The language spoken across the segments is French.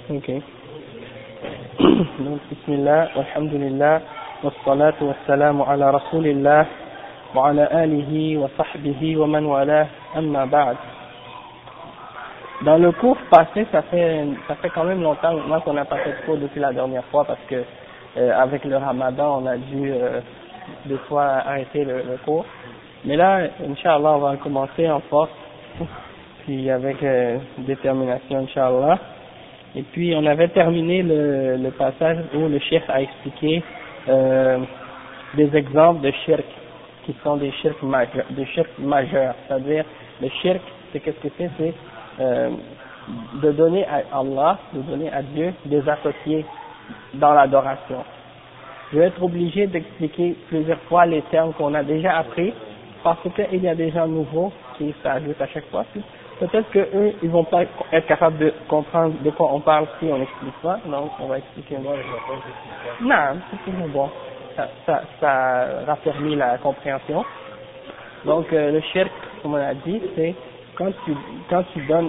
Ok. Donc, bismillah, alhamdulillah, wassalatu wassalamu ala rasulillah, wa ala alihi wa sahbihi wa man wala, amma ba'd. Dans le cours passé, ça fait quand même longtemps maintenant qu'on n'a pas fait de cours depuis la dernière fois parce que avec le ramadan, on a dû des fois arrêter le cours. Mais là, Inch'Allah, on va recommencer en force, puis avec détermination, Inch'Allah. Et puis, on avait terminé le passage où le cheikh a expliqué des exemples de shirk qui sont des shirk majeurs. C'est-à-dire, le shirk, c'est qu'est-ce que c'est? C'est de donner à Allah, de donner à Dieu des associés dans l'adoration. Je vais être obligé d'expliquer plusieurs fois les termes qu'on a déjà appris parce qu'il y a des gens nouveaux qui s'ajoutent à chaque fois. Peut-être que eux, ils vont pas être capables de comprendre de quoi on parle si on n'explique pas, donc on va expliquer. Non, c'est toujours bon. Ça raffermit la compréhension. Donc le shirk, comme on a dit, c'est quand tu donnes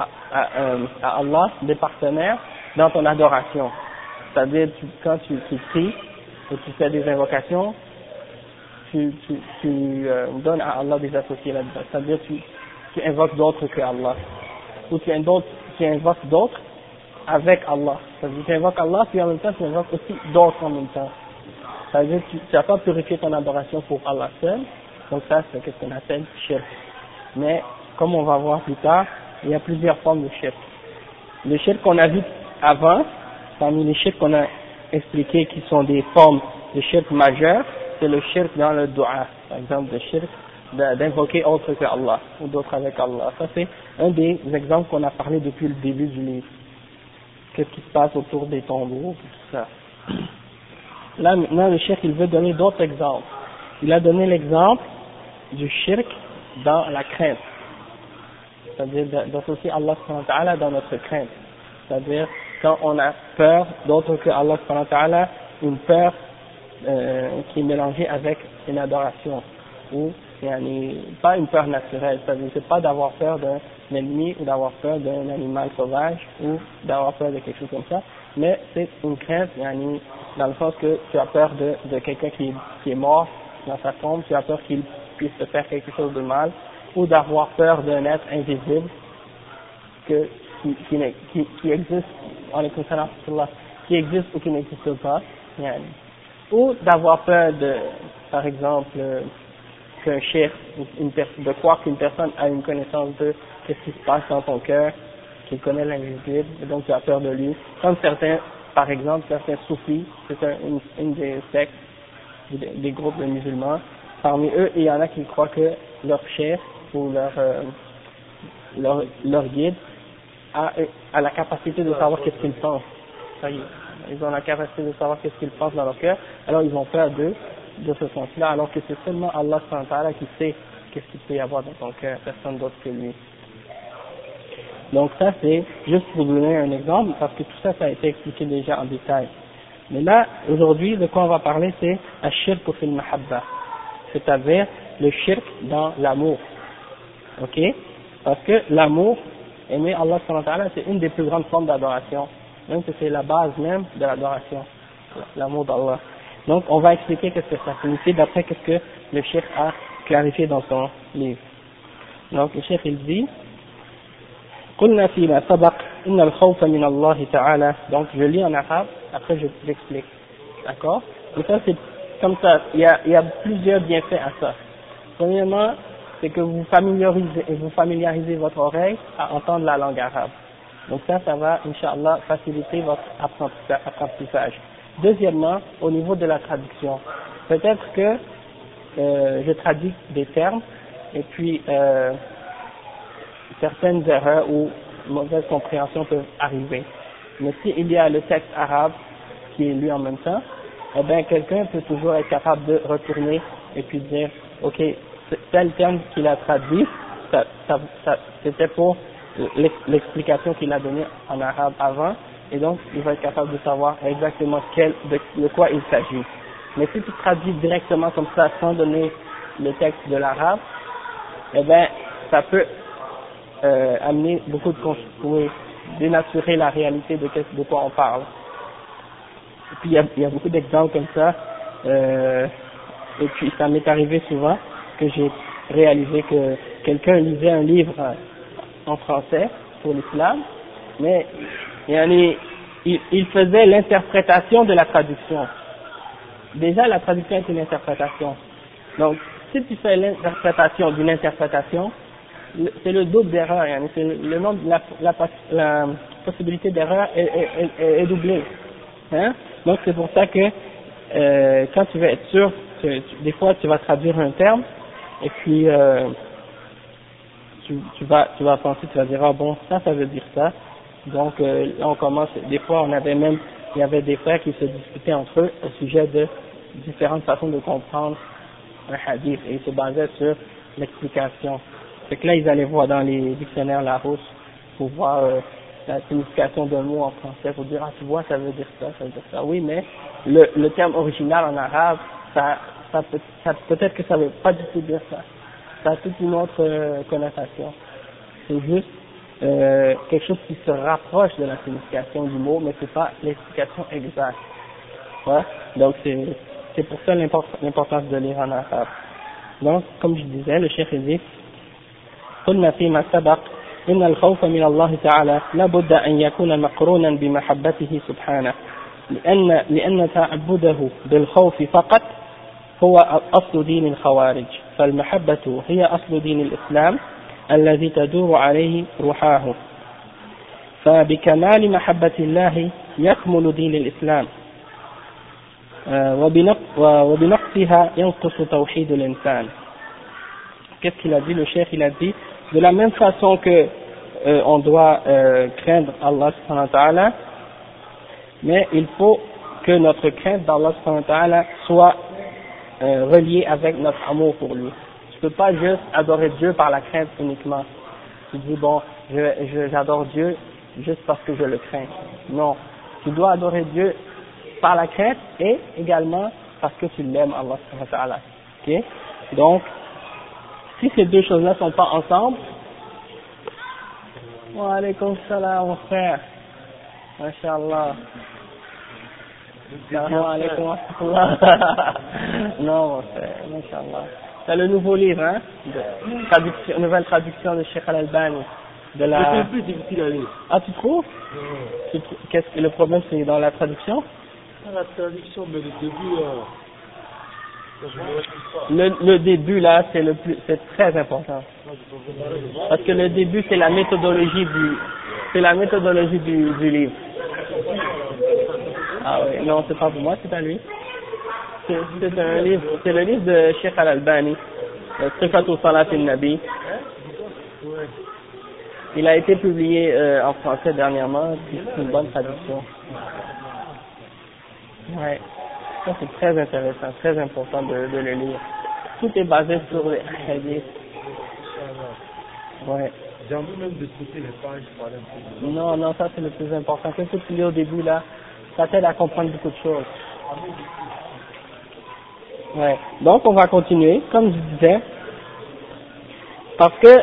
à Allah des partenaires dans ton adoration. C'est-à-dire quand tu pries et tu fais des invocations, tu donnes à Allah des associés là-dedans. C'est-à-dire tu invoques d'autres que Allah. Ou tu invoques d'autres avec Allah. C'est-à-dire tu invoques Allah, puis en même temps tu invoques aussi d'autres en même temps. C'est-à-dire tu n'as pas purifié ton adoration pour Allah seul. Donc ça, c'est ce qu'on appelle shirk. Mais, comme on va voir plus tard, il y a plusieurs formes de shirk. Le shirk qu'on a vu avant, parmi les shirk qu'on a expliqué qui sont des formes de shirk majeures, c'est le shirk dans le dua. Par exemple, le shirk d'invoquer autre que Allah, ou d'autres avec Allah. Ça, c'est un des exemples qu'on a parlé depuis le début du livre. Qu'est-ce qui se passe autour des tombeaux, tout ça. Là, maintenant, le shirk, il veut donner d'autres exemples. Il a donné l'exemple du shirk dans la crainte. C'est-à-dire d'associer Allah subhanahu wa ta'ala dans notre crainte. C'est-à-dire quand on a peur d'autre que Allah subhanahu wa ta'ala, une peur qui est mélangée avec une adoration. Ou pas une peur naturelle, c'est-à-dire c'est pas d'avoir peur d'un ennemi ou d'avoir peur d'un animal sauvage ou d'avoir peur de quelque chose comme ça, mais c'est une crainte dans le sens que tu as peur de quelqu'un qui est mort dans sa tombe, tu as peur qu'il puisse te faire quelque chose de mal, ou d'avoir peur d'un être invisible qui existe, qui existe ou qui n'existe pas, ou d'avoir peur par exemple, qu'un cheikh, de croire qu'une personne a une connaissance de ce qui se passe dans ton cœur, qu'il connaît l'invisible, et donc tu as peur de lui. Comme par exemple, certains soufis, c'est une des sectes, des groupes de musulmans. Parmi eux, il y en a qui croient que leur cheikh ou leur guide a la capacité de savoir qu'est-ce qu'ils pensent. Ça y est, ils ont la capacité de savoir qu'est-ce qu'ils pensent dans leur cœur, alors ils ont peur d'eux, de ce sens-là, alors que c'est seulement Allah subhanahu wa ta'ala qui sait qu'est-ce qu'il peut y avoir dans ton cœur, personne d'autre que lui. Donc ça c'est juste pour vous donner un exemple, parce que tout ça, ça a été expliqué déjà en détail. Mais là, aujourd'hui, de quoi on va parler, c'est ash-shirk fil mahabba, c'est-à-dire le shirk dans l'amour. Ok? Parce que l'amour, aimer Allah subhanahu wa ta'ala, c'est une des plus grandes formes d'adoration, même que c'est la base même de l'adoration, l'amour d'Allah. Donc, on va expliquer qu'est-ce que ça signifie d'après qu'est-ce que le cheikh a clarifié dans son livre. Donc, le cheikh, il dit, قلنا فيما سبق إن الخوف من الله تعالى. Donc, je lis en arabe, après j'explique. D'accord? Et ça, c'est comme ça, il y a plusieurs bienfaits à ça. Premièrement, c'est que vous familiarisez votre oreille à entendre la langue arabe. Donc ça va, Inch'Allah, faciliter votre apprentissage. Deuxièmement, au niveau de la traduction, peut-être que je traduis des termes et puis certaines erreurs ou mauvaises compréhensions peuvent arriver. Mais s'il y a le texte arabe qui est lu en même temps, eh bien quelqu'un peut toujours être capable de retourner et puis dire, ok, tel terme qu'il a traduit, c'était pour l'explication qu'il a donnée en arabe avant, et donc il va être capable de savoir exactement de quoi il s'agit. Mais si tu traduis directement comme ça, sans donner le texte de l'arabe, eh bien, ça peut amener beaucoup de dénaturer la réalité de quoi on parle. Et puis il y a beaucoup d'exemples comme ça, et puis ça m'est arrivé souvent que j'ai réalisé que quelqu'un lisait un livre en français pour l'islam, mais il faisait l'interprétation de la traduction. Déjà la traduction est une interprétation. Donc si tu fais l'interprétation d'une interprétation, c'est le double d'erreur, c'est le nombre, la possibilité d'erreur est doublée. Hein? Donc c'est pour ça que quand tu veux être sûr, des fois tu vas traduire un terme et puis tu vas penser, tu vas dire ah bon ça veut dire ça. Donc là on commence, des fois il y avait des frères qui se disputaient entre eux au sujet de différentes façons de comprendre un hadith et ils se basaient sur l'explication. Fait que là ils allaient voir dans les dictionnaires Larousse pour voir la signification d'un mot en français, pour dire ah tu vois ça veut dire ça, ça veut dire ça. Oui mais le terme original en arabe peut-être que ça veut pas du tout dire ça. Ça a toute une autre connotation. C'est juste quelque chose qui se rapproche de la signification du mot, mais c'est pas l'explication exacte. Ouais? Donc c'est pour ça l'importance de lire en arabe. Donc comme je disais, le cheikh dit قلنا فيما سبق إن الخوف من الله تعالى لابد أن يكون مقرونا بمحبته سبحانه لأن تعبده بالخوف فقط هو أصل دين الخوارج فالمحبة هي أصل دين الإسلام الذي تدور عليه روحاه فبكمال محبة الله يكمل دين الإسلام وبنقصها ينقص توحيد الإنسان. Qu'est-ce qu'il a dit le cheikh? Il a dit de la même façon que on doit craindre Allah subhanahu wa ta'ala, mais il faut que notre crainte d'Allah subhanahu wa ta'ala soit reliée avec notre amour pour lui. Tu peux pas juste adorer Dieu par la crainte uniquement. Tu dis bon, j'adore Dieu juste parce que je le crains. Non, tu dois adorer Dieu par la crainte et également parce que tu l'aimes Allah subhanahu wa ta'ala. Ok? Donc si ces deux choses-là sont pas ensemble, wa alaykoum salam mon frère, mashallah. Wa alaykoum assalam. Non mon frère, mashallah. C'est le nouveau livre, hein, nouvelle traduction de Cheikh Al-Albani. C'est un peu difficile à lire. Ah tu trouves? Qu'est-ce que le problème, c'est dans la traduction? La traduction, mais le début. Le début là, c'est très important. Parce que le début c'est la méthodologie du livre. Ah oui, non c'est pas pour moi, c'est à lui. C'est un livre, c'est le livre de Cheikh Al-Albani, Sifatu Salat al-Nabi. Il a été publié en français dernièrement, c'est une bonne traduction. Ouais. Ça c'est très intéressant, très important de le lire. Tout est basé sur les hadiths. Ouais. J'ai envie même de sauter les pages par exemple. Non, ça c'est le plus important. Qu'est-ce que tu lis au début là? Ça t'aide à comprendre beaucoup de choses. Ouais. Donc on va continuer, comme je disais, parce que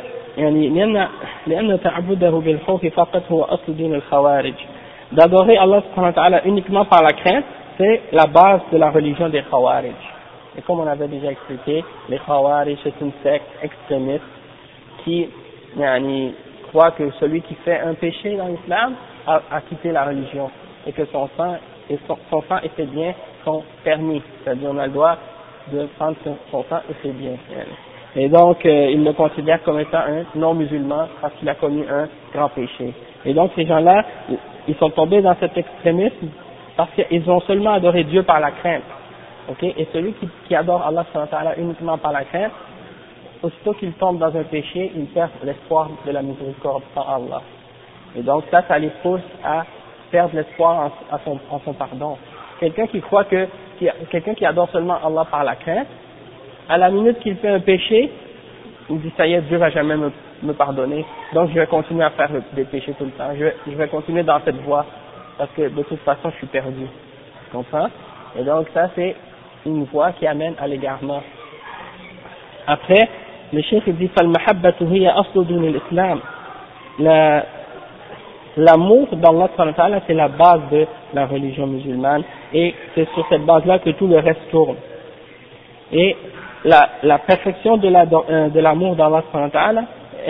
d'adorer Allah subhanahu wa ta'ala uniquement par la crainte, c'est la base de la religion des Khawarij. Et comme on avait déjà expliqué, les Khawarij c'est une secte extrémiste qui croit que celui qui fait un péché dans l'islam a quitté la religion et que son sang et ses biens sont permis, c'est-à-dire on a le droit de prendre son sang et ses biens. Et donc ils le considèrent comme étant un non-musulman parce qu'il a commis un grand péché. Et donc ces gens-là, ils sont tombés dans cet extrémisme parce qu'ils ont seulement adoré Dieu par la crainte. Okay? Et celui qui adore Allah subhanahu wa ta'ala uniquement par la crainte, aussitôt qu'il tombe dans un péché, il perd l'espoir de la miséricorde par Allah. Et donc ça les pousse à perdre l'espoir en son pardon. Quelqu'un qui adore seulement Allah par la crainte, à la minute qu'il fait un péché, il dit ça y est, Dieu va jamais me pardonner, donc je vais continuer à faire des péchés tout le temps, je vais continuer dans cette voie, parce que de toute façon je suis perdu. Tu comprends? Et donc ça c'est une voie qui amène à l'égarement. Après, le cheikh dit فالمحبة هي أصل دين الإسلام l'amour d'Allah subhanahu wa ta'ala, c'est la base de la religion musulmane, et c'est sur cette base-là que tout le reste tourne. Et la perfection de l'amour d'Allah subhanahu wa ta'ala,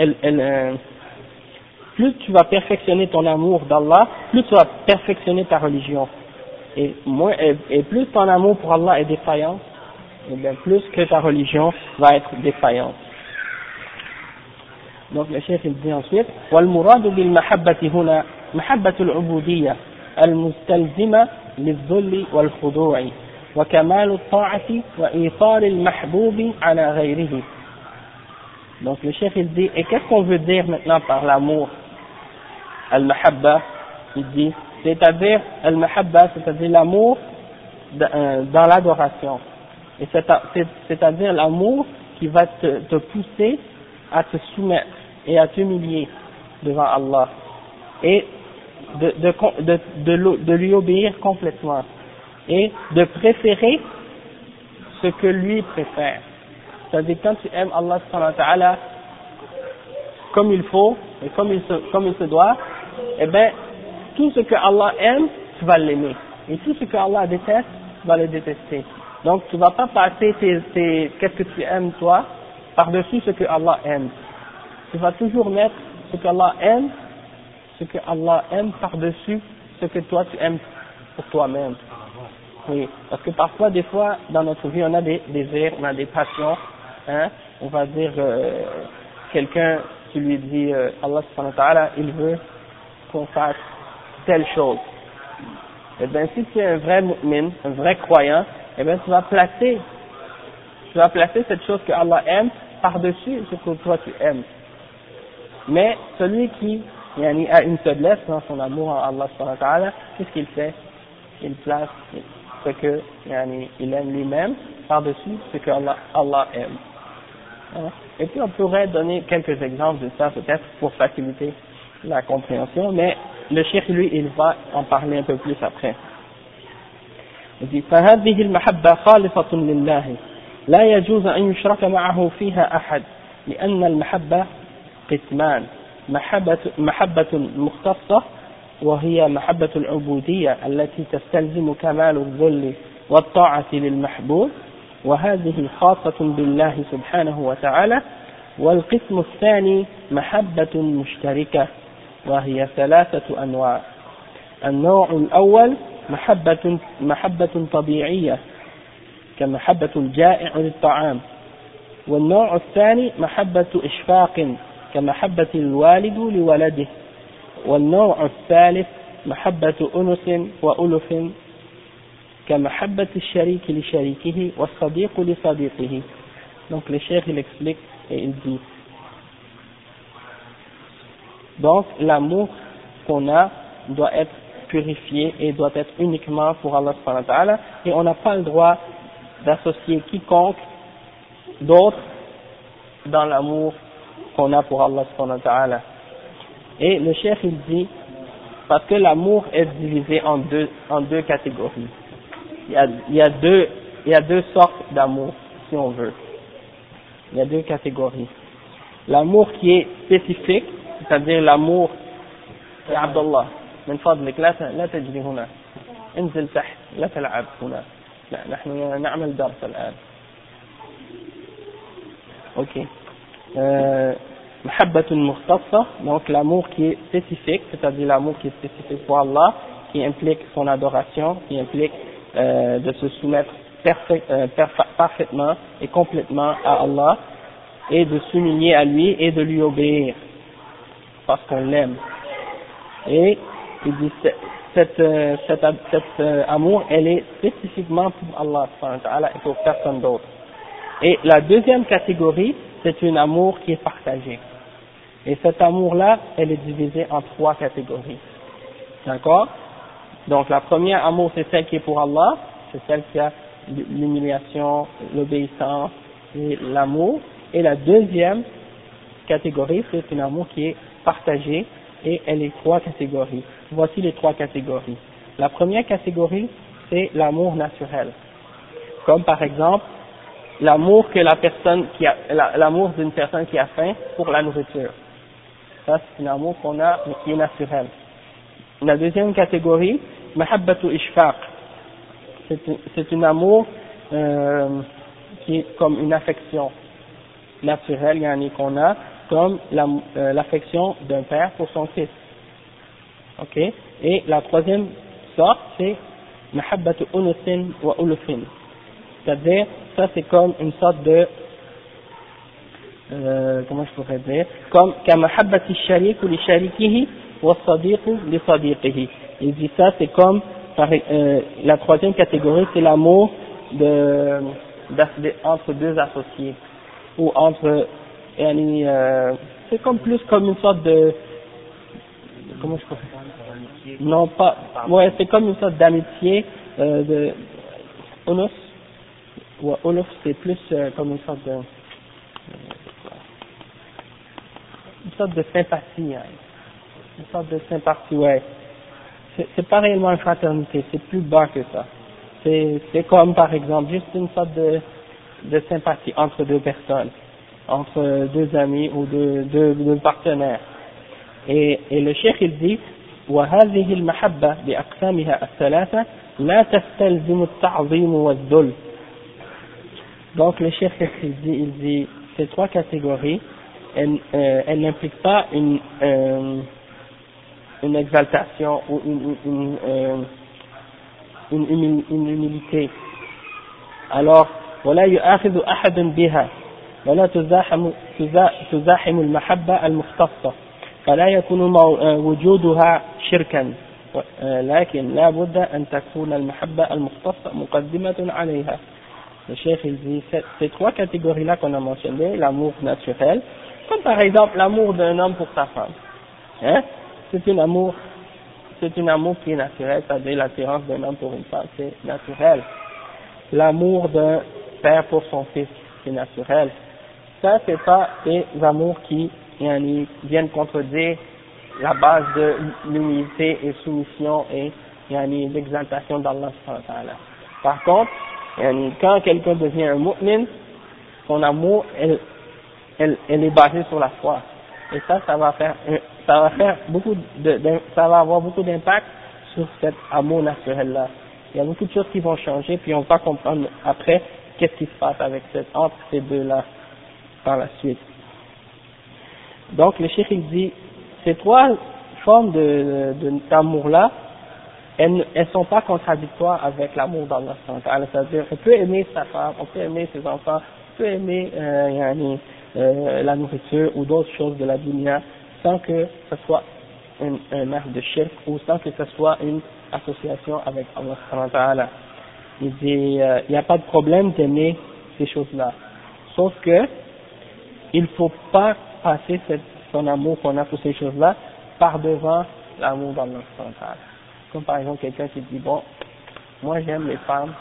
plus tu vas perfectionner ton amour d'Allah, plus tu vas perfectionner ta religion. Et plus ton amour pour Allah est défaillant, et bien plus que ta religion va être défaillante. Donc le chef il dit ensuite والمراد بالمحبة هنا محبة العبودية المستلزمة للذل والخضوع وكمال الطاعة وإيثار المحبوب على غيره. Donc le chef il dit, et qu'est-ce qu'on veut dire maintenant par l'amour? Al-Mahabba, il dit, c'est-à-dire Al-Mahabba, c'est-à-dire l'amour dans l'adoration. Et c'est-à-dire l'amour qui va te pousser à te soumettre et à t'humilier devant Allah et de lui obéir complètement et de préférer ce que lui préfère. C'est-à-dire quand tu aimes Allah subhanahu wa ta'ala comme il faut et comme il se doit, eh bien tout ce que Allah aime, tu vas l'aimer, et tout ce que Allah déteste, tu vas le détester. Donc tu vas pas passer qu'est-ce que tu aimes toi par-dessus ce que Allah aime. Tu vas toujours mettre ce que Allah aime par-dessus ce que toi tu aimes pour toi-même. Oui, parce que parfois, des fois, dans notre vie, on a des désirs, on a des passions, hein. On va dire, quelqu'un, tu lui dis, Allah subhanahu wa ta'ala, il veut qu'on fasse telle chose. Eh bien, si tu es un vrai mu'min, un vrai croyant, eh bien, tu vas placer cette chose que Allah aime par-dessus ce que toi tu aimes. Mais celui qui a une faiblesse dans son amour en Allah subhanahu wa ta'ala, qu'est-ce qu'il fait? Il place ce que il aime lui-même par-dessus ce que Allah aime. Et puis on pourrait donner quelques exemples de ça peut-être pour faciliter la compréhension, mais le cheikh lui il va en parler un peu plus après. Il dit فهذه المحبة خالصة لله لا يجوز أن يشرك معه فيها أحد لأن المحبة قسمان محبة مختصة وهي محبة العبودية التي تستلزم كمال الذل والطاعة للمحبوب وهذه خاصة بالله سبحانه وتعالى والقسم الثاني محبة مشتركة وهي ثلاثة أنواع النوع الأول محبة طبيعية كمحبة الجائع للطعام والنوع الثاني محبة إشفاق كمحبة الوالد لولده والنوع الثالث محبة أنس وألف كمحبة الشريك لشريكه والصديق لصديقه. Donc le cheikh il explique et il dit donc l'amour qu'on a doit être purifié et doit être uniquement pour Allah subhanahu wa ta'ala et on n'a pas le droit d'associer quiconque d'autre dans l'amour qu'on a pour Allah subhanahu wa ta'ala. Et le cheikh il dit parce que l'amour est divisé en deux catégories. Il y a deux sortes d'amour si on veut. Il y a deux catégories. L'amour qui est spécifique, c'est-à-dire l'amour يا عبد الله من فضلك لا تجري هنا انزل تحت لا تلعب هنا لا نحن نعمل درس الآن. Ok. محبة مختصة, donc l'amour qui est spécifique, c'est-à-dire l'amour qui est spécifique pour Allah, qui implique son adoration, qui implique de se soumettre parfaitement et complètement à Allah et de s'humilier à lui et de lui obéir parce qu'on l'aime. Et il dit cet amour elle est spécifiquement pour Allah et pour personne d'autre. Et la deuxième catégorie c'est un amour qui est partagé. Et cet amour-là, elle est divisée en trois catégories. D'accord? Donc la première amour, c'est celle qui est pour Allah, c'est celle qui a l'humiliation, l'obéissance et l'amour. Et la deuxième catégorie, c'est un amour qui est partagé et elle est trois catégories. Voici les trois catégories. La première catégorie, c'est l'amour naturel. Comme par exemple, l'amour que l'amour d'une personne qui a faim pour la nourriture. Ça, c'est un amour qu'on a, mais qui est naturel. la deuxième catégorie, mahabbatu ishfaq, c'est un amour qui est comme une affection naturelle, yani qu'on a, comme l'affection d'un père pour son fils. Ok? Et la troisième sorte, c'est mahabbatu unusin wa ulufin. C'est-à-dire, ça c'est comme une sorte de, comment je pourrais dire, comme kamahabbati sharik ou li sharikihi wa sadiqu li sadiqihi. Il dit ça, c'est comme, la troisième catégorie, c'est l'amour entre deux associés, ou entre, c'est comme plus comme une sorte de, comment je pourrais dire, non pas, ouais, c'est comme une sorte d'amitié, de, unus, ou uluf, c'est plus comme une sorte de sympathie, hein. Une sorte de sympathie, ouais. C'est pas réellement une fraternité, c'est plus bas que ça. C'est comme par exemple juste une sorte de sympathie entre deux personnes, entre deux amis ou deux partenaires. Et le cheikh il dit وهذه المحبة بأقسامها الثلاثة لا تستلزم التعظيم والذل. Donc le cheikh il dit ces trois catégories elles n'impliquent pas une exaltation ou une humilité. Alors ولا يؤاخذ أحد بها ولا تزاحم المحبة المختصة فلا يكون وجودها شركا لكن لا بد أن تكون المحبة المختصة مقدمة عليها. Le cheikh il dit ces trois catégories là qu'on a mentionnées, l'amour naturel, comme par exemple l'amour d'un homme pour sa femme, hein, c'est un amour qui est naturel, c'est-à-dire l'attirance d'un homme pour une femme, c'est naturel. L'amour d'un père pour son fils, c'est naturel. Ça, c'est pas des amours qui viennent contredire la base de l'humilité et soumission et l'exaltation d'Allah. Par contre, quand quelqu'un devient un mu'min, son amour, elle est basée sur la foi. Et ça va avoir beaucoup d'impact sur cet amour naturel-là. Il y a beaucoup de choses qui vont changer, puis on va comprendre après qu'est-ce qui se passe entre ces deux-là par la suite. Donc le cheikh il dit, ces trois formes d'amour-là, elles sont pas contradictoires avec l'amour d'Allah. C'est-à-dire, on peut aimer sa femme, on peut aimer ses enfants, on peut aimer la nourriture ou d'autres choses de la dunya sans que ce soit un acte de shirk ou sans que ce soit une association avec Allah. Il dit, il n'y a pas de problème d'aimer ces choses-là. Sauf que, il faut pas passer son amour qu'on a pour ces choses-là par devant l'amour d'Allah. Comme par exemple quelqu'un qui dit, bon, moi j'aime les femmes,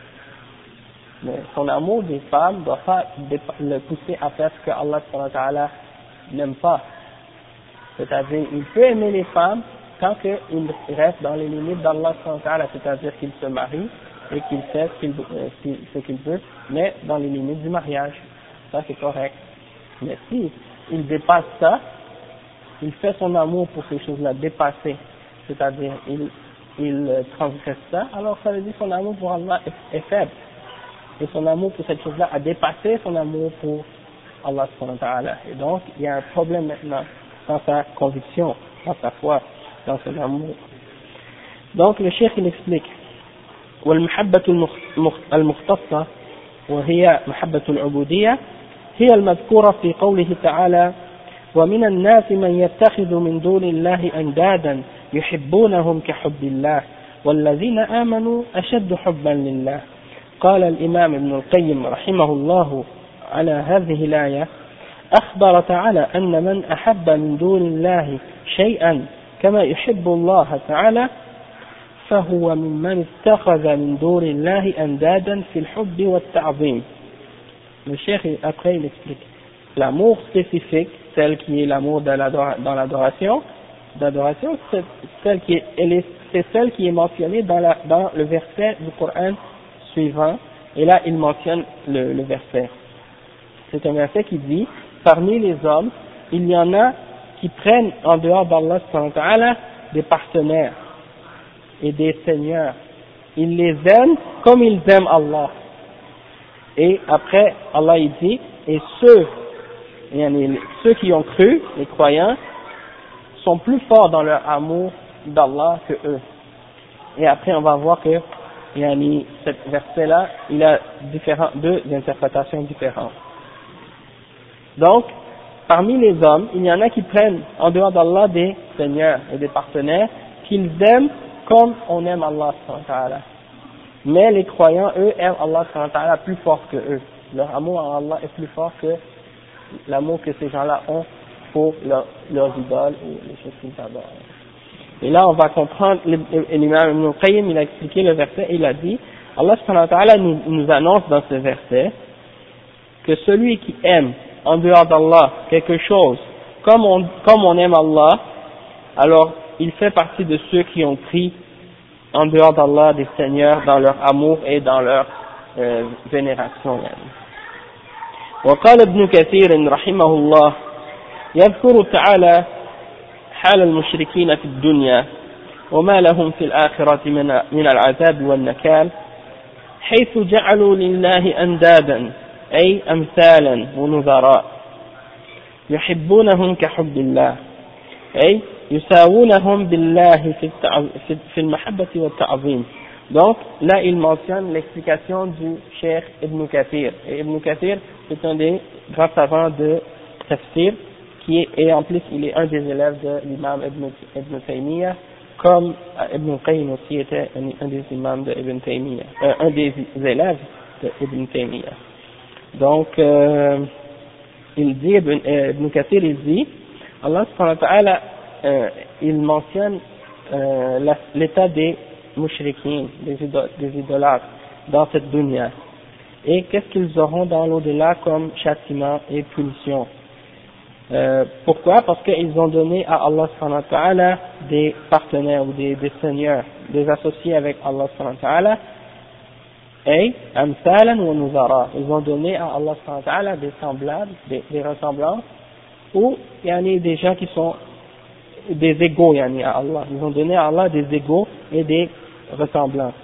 mais son amour des femmes ne doit pas le pousser à faire ce que Allah n'aime pas. C'est-à-dire, il peut aimer les femmes tant qu'il reste dans les limites d'Allah, c'est-à-dire qu'il se marie et qu'il fait ce qu'il veut, mais dans les limites du mariage. Ça c'est correct. Mais si il dépasse ça, il fait son amour pour ces choses-là dépasser, c'est-à-dire il transgresse ça, alors ça veut dire que son amour pour Allah est faible. Et son amour pour cette chose-là a dépassé son amour pour Allah subhanahu wa ta'ala. Et donc, il y a un problème maintenant dans sa conviction, dans sa foi, dans son amour. Donc, le cheikh il explique والمحبة المختصة وهي محبة العبودية هي المذكورة في قوله تعالى ومن الناس من يتخذ من دون الله أندادا يحبونهم كحب الله والذين آمنوا أشد حبا لله. قال الإمام ابن القيم رحمه الله على هذه الآية أخبر تعالى أن من أحب من دون الله شيئا كما يحب الله تعالى فهو ممن اتخذ من دون الله أندادا في الحب والتعظيم. Le cheikh après il explique l'amour spécifique, celle qui est l'amour dans l'adoration, c'est celle qui est mentionnée dans le verset du Coran suivant, et là il mentionne le verset. C'est un verset qui dit, parmi les hommes, il y en a qui prennent en dehors d'Allah des partenaires, et des seigneurs. Ils les aiment comme ils aiment Allah. Et après, Allah il dit, et ceux qui ont cru, les croyants, sont plus forts dans leur amour d'Allah que eux. Et après, on va voir que ce verset-là, il a deux interprétations différentes. Donc, parmi les hommes, il y en a qui prennent en dehors d'Allah des seigneurs et des partenaires qu'ils aiment comme on aime Allah subhanahu wa ta'ala. Mais les croyants, eux, aiment Allah subhanahu wa ta'ala plus fort que eux. Leur amour en Allah est plus fort que l'amour que ces gens-là ont pour leurs idoles ou les choses qu'ils adorent. Et là, on va comprendre, l'imam Ibn Qayyim, il a expliqué le verset, et il a dit, Allah subhanahu wa ta'ala nous annonce dans ce verset que celui qui aime en dehors d'Allah quelque chose, comme on aime Allah, alors il fait partie de ceux qui ont pris en dehors d'Allah des seigneurs dans leur amour et dans leur vénération. وقال ابن كثير رحمه الله يذكر تعالى حال المشركين في الدنيا وما لهم في الآخرة من العذاب والنكال حيث جعلوا لله أندادا أي أمثالا ونظراء يحبونهم كحب الله أي يساوونهم بالله في المحبة والتعظيم. Donc là il mentionne l'explication du Cheikh Ibn Kathir. Et Ibn Kathir c'est un des grands savants de Tafsir et en plus il est un des élèves de l'imam Ibn Taymiyyah, comme Ibn Qayyim aussi était un des imams de Ibn Taymiyyah, un des élèves de Ibn Taymiyyah. Donc il dit, Ibn Kathir il dit, Allah subhanahu wa ta'ala il mentionne l'état des mushrikins, des idolâtres dans cette dunya, et qu'est-ce qu'ils auront dans l'au-delà comme châtiment et punition. Pourquoi? Parce qu'ils ont donné à Allah subhanahu wa ta'ala des partenaires ou des seigneurs, des associés avec Allah subhanahu wa ta'ala, et amsalan wa nuzara, ils ont donné à Allah subhanahu wa ta'ala des semblables, des ressemblances, ou il y en a des gens qui sont des égaux à Allah, ils ont donné à Allah des égaux et des ressemblances.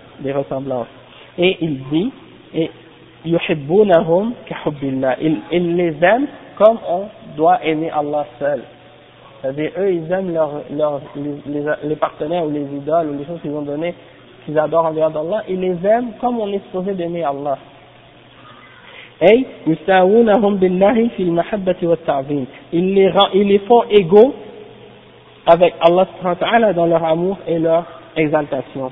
Et il dit, et yuhibbunahum ka hubbillah, ils les aiment comme on doit aimer Allah seul. C'est-à-dire, eux, ils aiment les partenaires ou les idoles ou les choses qu'ils ont données, qu'ils adorent en dehors d'Allah, ils les aiment comme on est supposé d'aimer Allah. Et yusawunahum billahi fil mahabbati wat ta'zim, ils les font égaux avec Allah subhanahu wa ta'ala dans leur amour et leur exaltation.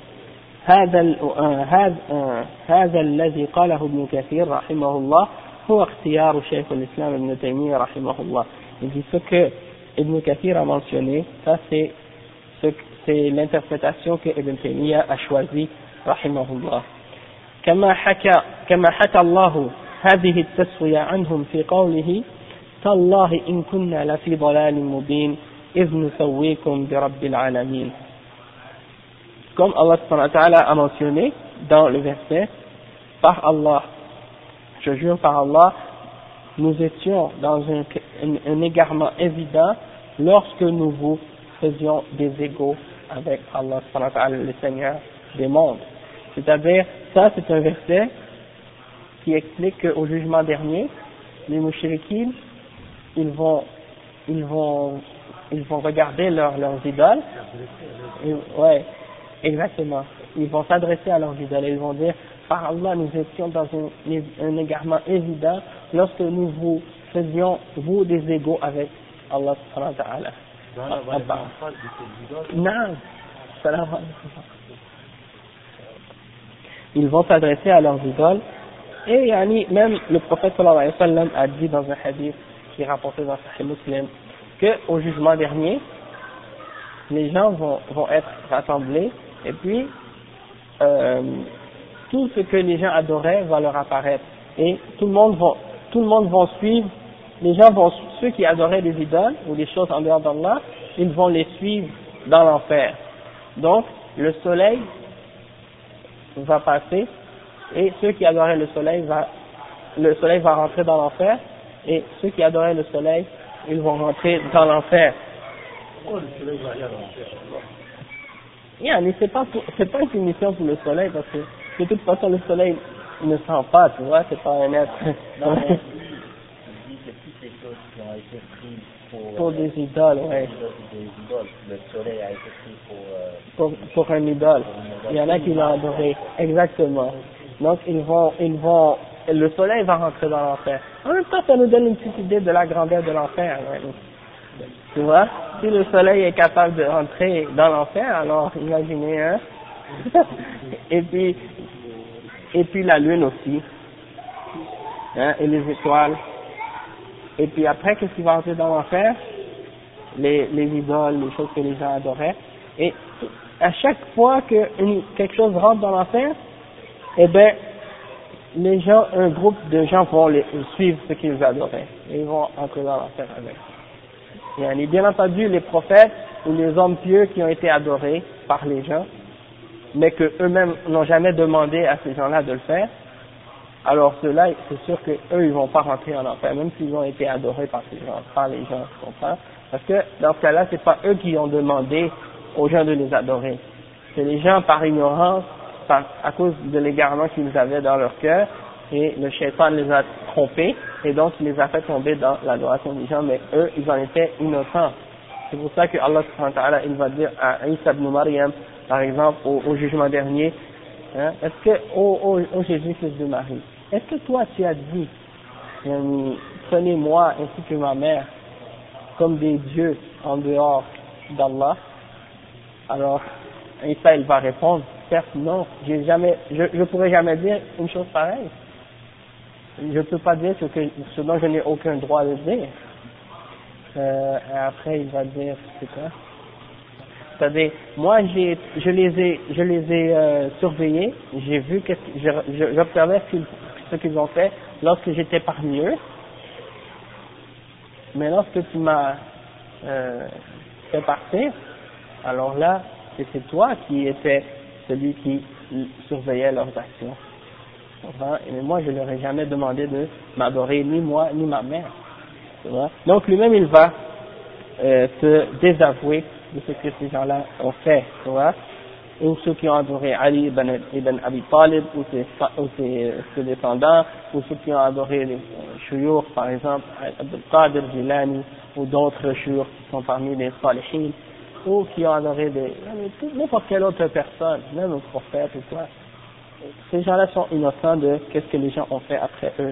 هذا الذي قاله ابن كثير رحمه الله هو اختيار شيخ الإسلام ابن تيمية رحمه الله. Il dit ce que Ibn Kathir a mentionné, ça c'est l'interprétation que Ibn Taymiyyah a choisie رحمه الله. كما حكى الله هذه التسوية عنهم في قوله تالله إن كنا لفي ضلال مبين إذ نسويكم برب العالمين. Comme Allah subhanahu wa ta'ala a mentionné dans le verset, par Allah, je jure par Allah, nous étions dans un égarement évident lorsque nous vous faisions des égaux avec Allah subhanahu wa ta'ala, le Seigneur des mondes. C'est-à-dire, ça c'est un verset qui explique qu'au jugement dernier, les mouchriquines, ils vont regarder leurs idoles, ouais, exactement, ils vont s'adresser à leurs idoles et ils vont dire, par Allah, nous étions dans un égarement évident lorsque nous vous faisions, vous, des égaux avec Allah subhanahu wa ta'ala. Non, ils vont s'adresser à leurs idoles, et même le prophète sallallahu alayhi wa sallam a dit dans un hadith qui est rapporté dans Sahih Muslim qu'au jugement dernier, les gens vont être rassemblés, et puis tout ce que les gens adoraient va leur apparaître, et tout le monde va suivre, ceux qui adoraient les idoles ou les choses en dehors d'Allah, ils vont les suivre dans l'enfer. Donc le soleil va passer, et ceux qui adoraient le soleil va rentrer dans l'enfer, et ceux qui adoraient le soleil, ils vont rentrer dans l'enfer. Oh, le soleil va aller à l'enfer. c'est pas une punition pour le soleil, parce que de toute façon le soleil ne sent pas, tu vois, c'est pas un être. Non, mais lui, il dit que toutes les choses qui ont été prises pour des idoles, ouais. Des idoles, le soleil a été pris pour un idole. Il y en a qui l'ont adoré, exactement. Donc le soleil va rentrer dans l'enfer. En même temps, ça nous donne une petite idée de la grandeur de l'enfer. Ouais. Tu vois, si le soleil est capable de rentrer dans l'enfer, alors imaginez, hein. et puis la lune aussi, hein, et les étoiles. Et puis après, qu'est-ce qui va entrer dans l'enfer? Les idoles, les choses que les gens adoraient. Et à chaque fois que quelque chose rentre dans l'enfer, eh ben, les gens, un groupe de gens vont suivre ce qu'ils adoraient. Et ils vont entrer dans l'enfer avec. Et bien entendu, les prophètes ou les hommes pieux qui ont été adorés par les gens, mais que eux-mêmes n'ont jamais demandé à ces gens-là de le faire, alors ceux-là, c'est sûr que eux, ils vont pas rentrer en enfer, même s'ils ont été adorés par ces gens, par les gens, tu comprends? Parce que dans ce cas-là, c'est pas eux qui ont demandé aux gens de les adorer. C'est les gens par ignorance, à cause de l'égarement qu'ils avaient dans leur cœur, et le shaitan les a trompés, et donc il les a fait tomber dans l'adoration des gens, mais eux, ils en étaient innocents. C'est pour ça que Allah subhanahu wa ta'ala, il va dire à Isa ibn Maryam, par exemple, au jugement dernier, hein, est-ce que, ô Jésus, fils de Marie, est-ce que toi tu as dit, prenez-moi ainsi que ma mère comme des dieux en dehors d'Allah? Alors, Isa il va répondre, certes non, je pourrais jamais dire une chose pareille. Je peux pas dire ce dont je n'ai aucun droit de dire. Et après il va dire, c'est quoi? C'est-à-dire, moi je les ai surveillés, j'ai vu j'observais ce qu'ils ont fait lorsque j'étais parmi eux, mais lorsque tu m'as fait partir, alors là, c'est toi qui étais celui qui surveillait leurs actions. Et moi, je leur ai jamais demandé de m'adorer, ni moi, ni ma mère. Donc lui-même, il va se désavouer de ce que ces gens-là ont fait, tu vois, ou ceux qui ont adoré Ali ibn Abi Talib, ou ses descendants, ou ceux qui ont adoré les shuyukh, par exemple, Abdul Qadir Jilani, ou d'autres shuyukh qui sont parmi les salihin, ou qui ont adoré n'importe quelle autre personne, même un prophète ou quoi. Ces gens-là sont innocents de qu'est-ce que les gens ont fait après eux.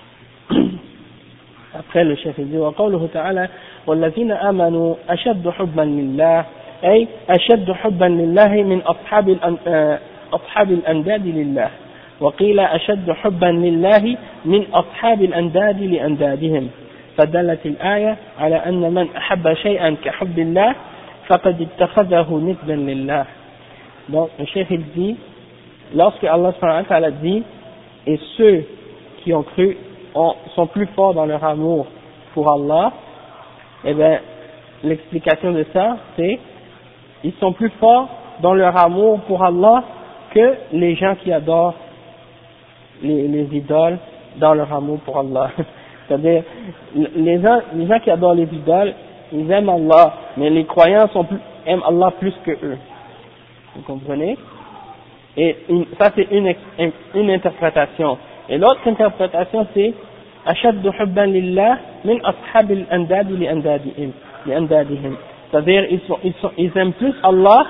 Après le chef dit وقوله تعالى والذين آمنوا أشد حبا لله أي أشد حبا لله من أصحاب الأنداد لله وقيل أشد حبا لله من أصحاب الأنداد لأندادهم فدلت الآية على أن من أحب شيئا كحب الله فقد اتخذه ندا لله. Donc le chef il dit, lorsque Allah subhanahu wa ta'ala dit et ceux qui ont cru sont plus forts dans leur amour pour Allah, eh bien, l'explication de ça, c'est, ils sont plus forts dans leur amour pour Allah que les gens qui adorent les idoles dans leur amour pour Allah. C'est-à-dire, les gens qui adorent les idoles, ils aiment Allah, mais les croyants aiment Allah plus que eux. Vous comprenez? Et ça, c'est une interprétation. Et l'autre interprétation, c'est أشد حبا لله من أصحاب الأنداد لأندادهم. C'est-à-dire, ils aiment plus Allah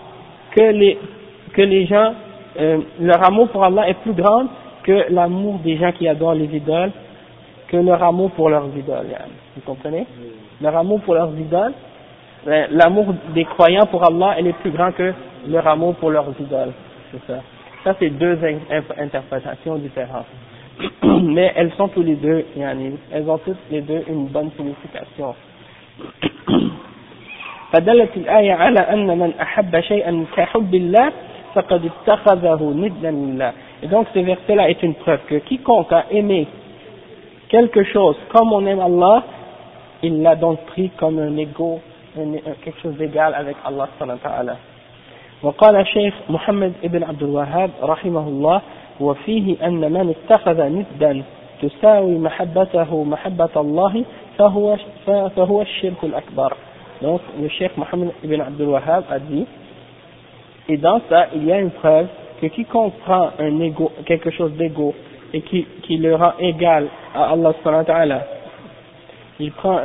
que les gens, leur amour pour Allah est plus grand que l'amour des gens qui adorent les idoles, que leur amour pour leurs idoles. Vous comprenez? Leur amour pour leurs idoles, l'amour des croyants pour Allah, elle est plus grand que leur amour pour leurs idoles. C'est ça. Ça, c'est deux interprétations différentes. Mais elles sont tous les deux, elles ont toutes les deux une bonne signification. فدلت الآية على أن من أحب شيئا كحب الله فقد اتخذه ندا لله. Et donc ce verset-là est une preuve que quiconque a aimé quelque chose comme on aime Allah, il l'a donc pris comme un égo, quelque chose d'égal avec Allah subhanahu wa ta'ala. وقال الشيخ محمد ابن عبد الوهاب رحمه الله وفيه أن من اتخذ ندا تساوي محبته محبة الله فهو الشرك الأكبر. Donc le Cheikh Mohammed ibn Abdul Wahhab a dit Et dans ça, il y a une preuve que quiconque prend quelque chose d'égaux et qui le rend égal à Allah subhanahu wa ta'ala, il prend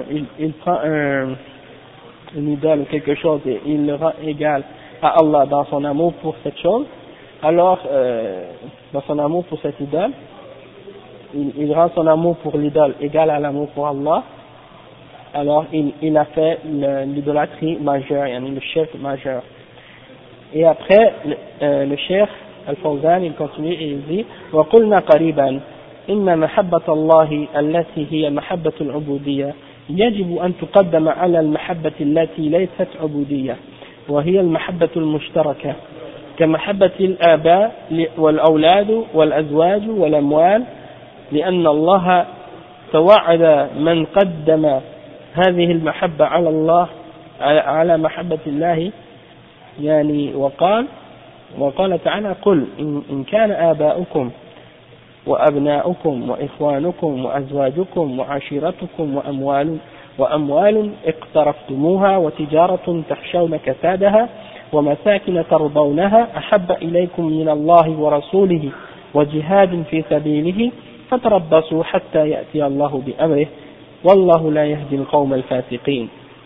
une idole ou quelque chose et il le rend égal à Allah dans son amour pour cette chose, alors dans son amour pour cette idole, il rend son amour pour l'idole égal à l'amour pour Allah, alors il a fait l'idolâtrie majeure, le shirk majeur. Et après le cheikh Al-Fawzan il continue et il dit وقلنا قريبا إن محبة الله التي هي محبة العبودية يجب أن تقدم على المحبة التي ليست عبودية وهي المحبة المشتركة كمحبة الآباء والأولاد والأزواج والأموال لأن الله توعد من قدم هذه المحبة على الله على محبة الله يعني وقال تعالى قل إن كان آباؤكم وأبناؤكم وإخوانكم وأزواجكم وعشيرتكم وأموال اقترفتموها وتجارة تخشون كسادها ومساكن ترضونها أحب إليكم من الله ورسوله وجهاد في سبيله فتربصوا حتى يأتي الله بأمره والله لا يهدي القوم الفاسقين.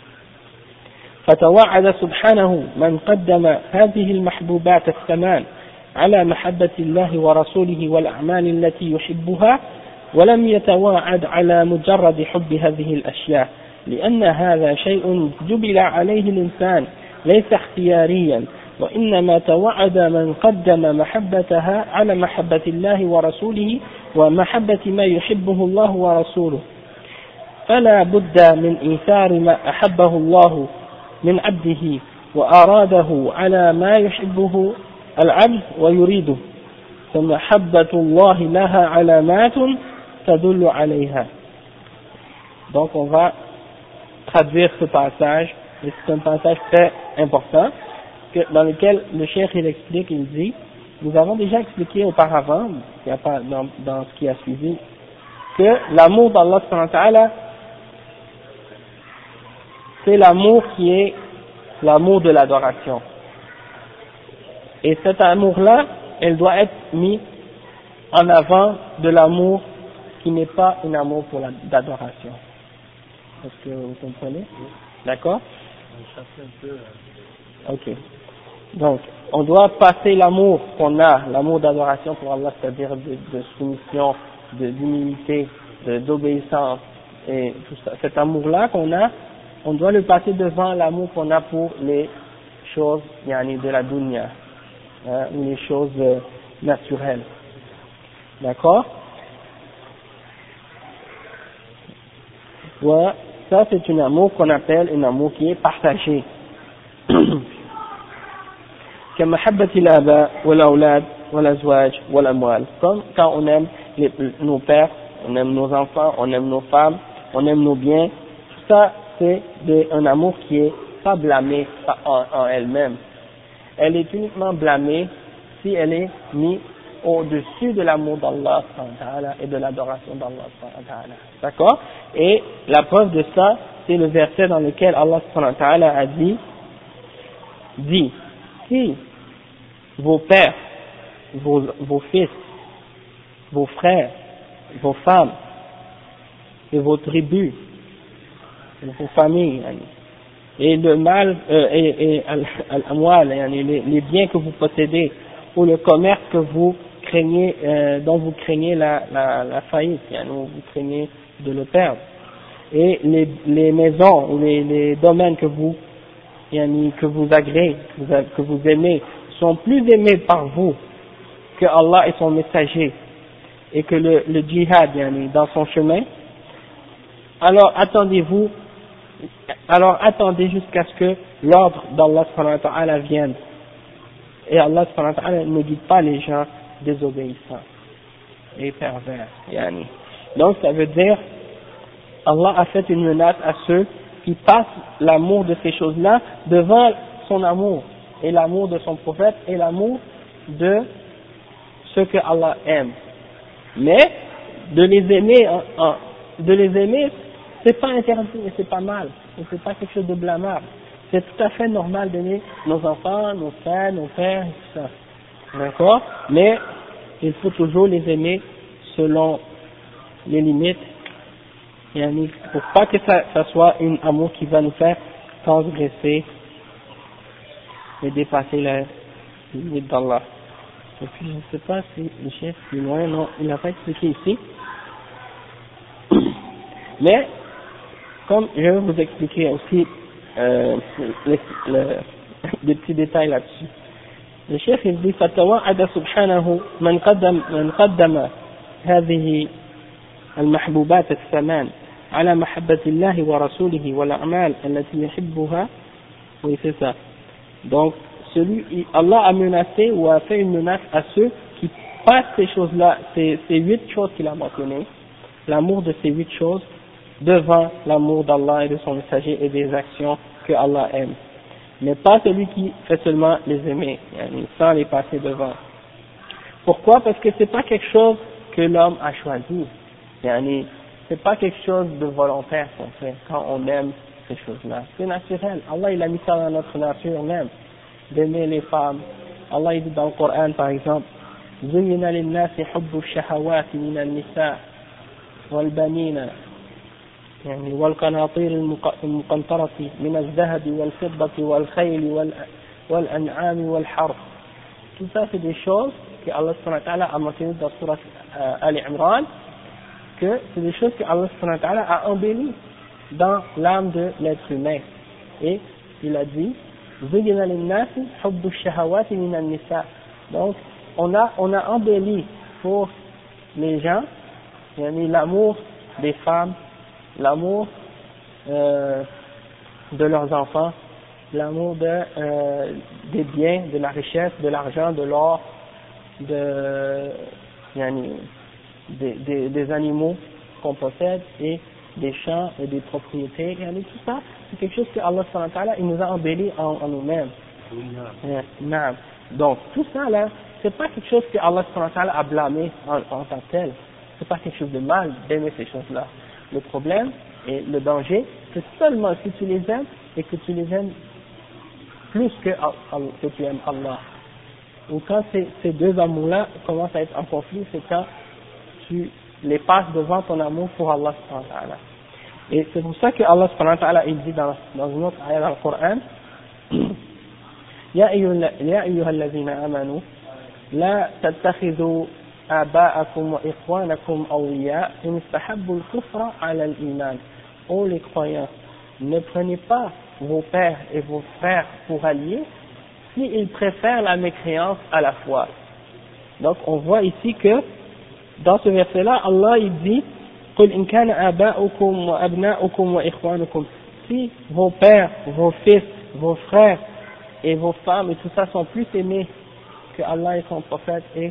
فتوعد سبحانه من قدم هذه المحبوبات الثمان على محبة الله ورسوله والأعمال التي يحبها ولم يتواعد على مجرد حب هذه الأشياء لأن هذا شيء جبل عليه الإنسان ليس اختياريا وإنما توعد من قدم محبتها على محبة الله ورسوله ومحبة ما يحبه الله ورسوله فلا بد من إيثار ما أحبه الله من عبده وأراده على ما يحبه العبد ويريده فمحبة الله لها علامات تدل عليها. Donc on va traduire ce passage, et c'est un passage très important dans lequel le cheikh il explique, il dit, nous avons déjà expliqué auparavant, dans ce qui a suivi, que l'amour d'Allah subhanahu wa ta'ala, c'est l'amour qui est l'amour de l'adoration. Et cet amour-là, elle doit être mis en avant de l'amour qui n'est pas un amour pour l'adoration. Est-ce que vous comprenez? D'accord? Ok. Donc, on doit passer l'amour qu'on a, l'amour d'adoration pour Allah, c'est-à-dire de soumission, d'humilité, d'obéissance, et tout ça. Cet amour-là qu'on a, on doit le passer devant l'amour qu'on a pour les choses, de la dunya, ou les choses naturelles. D'accord? Ouais, ça c'est un amour qu'on appelle un amour qui est partagé. كمحبة الآباء والأولاد والأزواج والأموال. Comme quand on aime nos pères, on aime nos enfants, on aime nos femmes, on aime nos biens, tout ça c'est un amour qui est pas blâmé en elle-même. Elle est uniquement blâmée si elle est mise au-dessus de l'amour d'Allah et de l'adoration d'Allah. D'accord? Et la preuve de ça, c'est le verset dans lequel Allah a dit, si vos pères, vos fils, vos frères, vos femmes et vos tribus, vos familles, et le mal et al-amwal, les biens que vous possédez, ou le commerce que vous craignez, dont vous craignez la faillite, où vous craignez de le perdre, et les maisons ou les domaines que vous agréez, que vous aimez, sont plus aimés par vous que Allah et son messager, et que le djihad dans son chemin, alors attendez jusqu'à ce que l'ordre d'Allah subhanahu wa ta'ala vienne. Et Allah subhanahu wa ta'ala ne guide pas les gens désobéissants et pervers. Donc ça veut dire, Allah a fait une menace à ceux qui passent l'amour de ces choses-là devant son amour, et l'amour de son prophète, et l'amour de ce que Allah aime. Mais de les aimer, c'est pas interdit et c'est pas mal, et c'est pas quelque chose de blâmable. c'est tout à fait normal d'aimer nos enfants, nos frères, nos pères, et tout ça. D'accord? Mais il faut toujours les aimer selon les limites, et pour pas que ça soit un amour qui va nous faire transgresser et dépasser la limite d'Allah. Et puis je ne sais pas si le chef plus loin, non, il n'a pas expliqué ici. Mais, comme je vais vous expliquer aussi des petits détails là-dessus. Le chef il dit فتوعد سبحانه من قدم هذه المحبوبات الثمان على محبة الله ورسوله والأعمال التي يحبها. Oui, c'est ça. Donc, Allah a menacé ou a fait une menace à ceux qui passent ces choses-là, ces 8 choses qu'il a mentionnées, l'amour de ces 8 choses, devant l'amour d'Allah et de son messager et des actions que Allah aime. Mais pas celui qui fait seulement les aimer, sans les passer devant. Pourquoi? Parce que c'est pas quelque chose que l'homme a choisi. C'est pas quelque chose de volontaire qu'on fait quand on aime ces choses-là. C'est naturel. Allah il a mis ça dans notre nature même, d'aimer les femmes. Allah il dit dans le Coran par exemple, زين للناس حب الشهوات من النساء والبنين والقناطير المقنطرة من الذهب والفضة والخيل والأنعام والحرث. Tout ça c'est des choses que Allah subhanahu wa ta'ala a mentionné dans Surat Ali Imran, que c'est des choses que Allah subhanahu wa ta'ala a embellies dans l'âme de l'être humain. Et il a dit زين للناس حب الشهوات من النساء. Donc on a embelli pour les gens l'amour des femmes, l'amour de leurs enfants, l'amour des biens, de la richesse, de l'argent, de l'or, des animaux qu'on possède et des champs et des propriétés, tout ça, c'est quelque chose que Allah subhanahu wa ta'ala il nous a embelli en nous-mêmes. Donc tout ça là, c'est pas quelque chose que Allah subhanahu wa ta'ala a blâmé en tant que tel. C'est pas quelque chose de mal d'aimer ces choses-là. Le problème et le danger, c'est seulement si tu les aimes et que tu les aimes plus que tu aimes Allah. Ou quand ces deux amours-là commencent à être en conflit, c'est quand tu les passes devant ton amour pour Allah subhanahu wa ta'ala. Et c'est pour ça que Allah subhanahu wa ta'ala il dit dans une autre ayah dans le Coran, يا أيها الذين آمنوا لا تتخذوا آباءكم وإخوانكم أولياء إن استحبوا الكفر على الإيمان. Ô les croyants, ne prenez pas vos pères et vos frères pour alliés s'ils préfèrent la mécréance à la foi. Donc on voit ici que dans ce verset-là, Allah il dit قل إن كان آباؤكم وأبناؤكم وإخوانكم. Si vos pères, vos fils, vos frères et vos femmes et tout ça sont plus aimés que Allah et son prophète et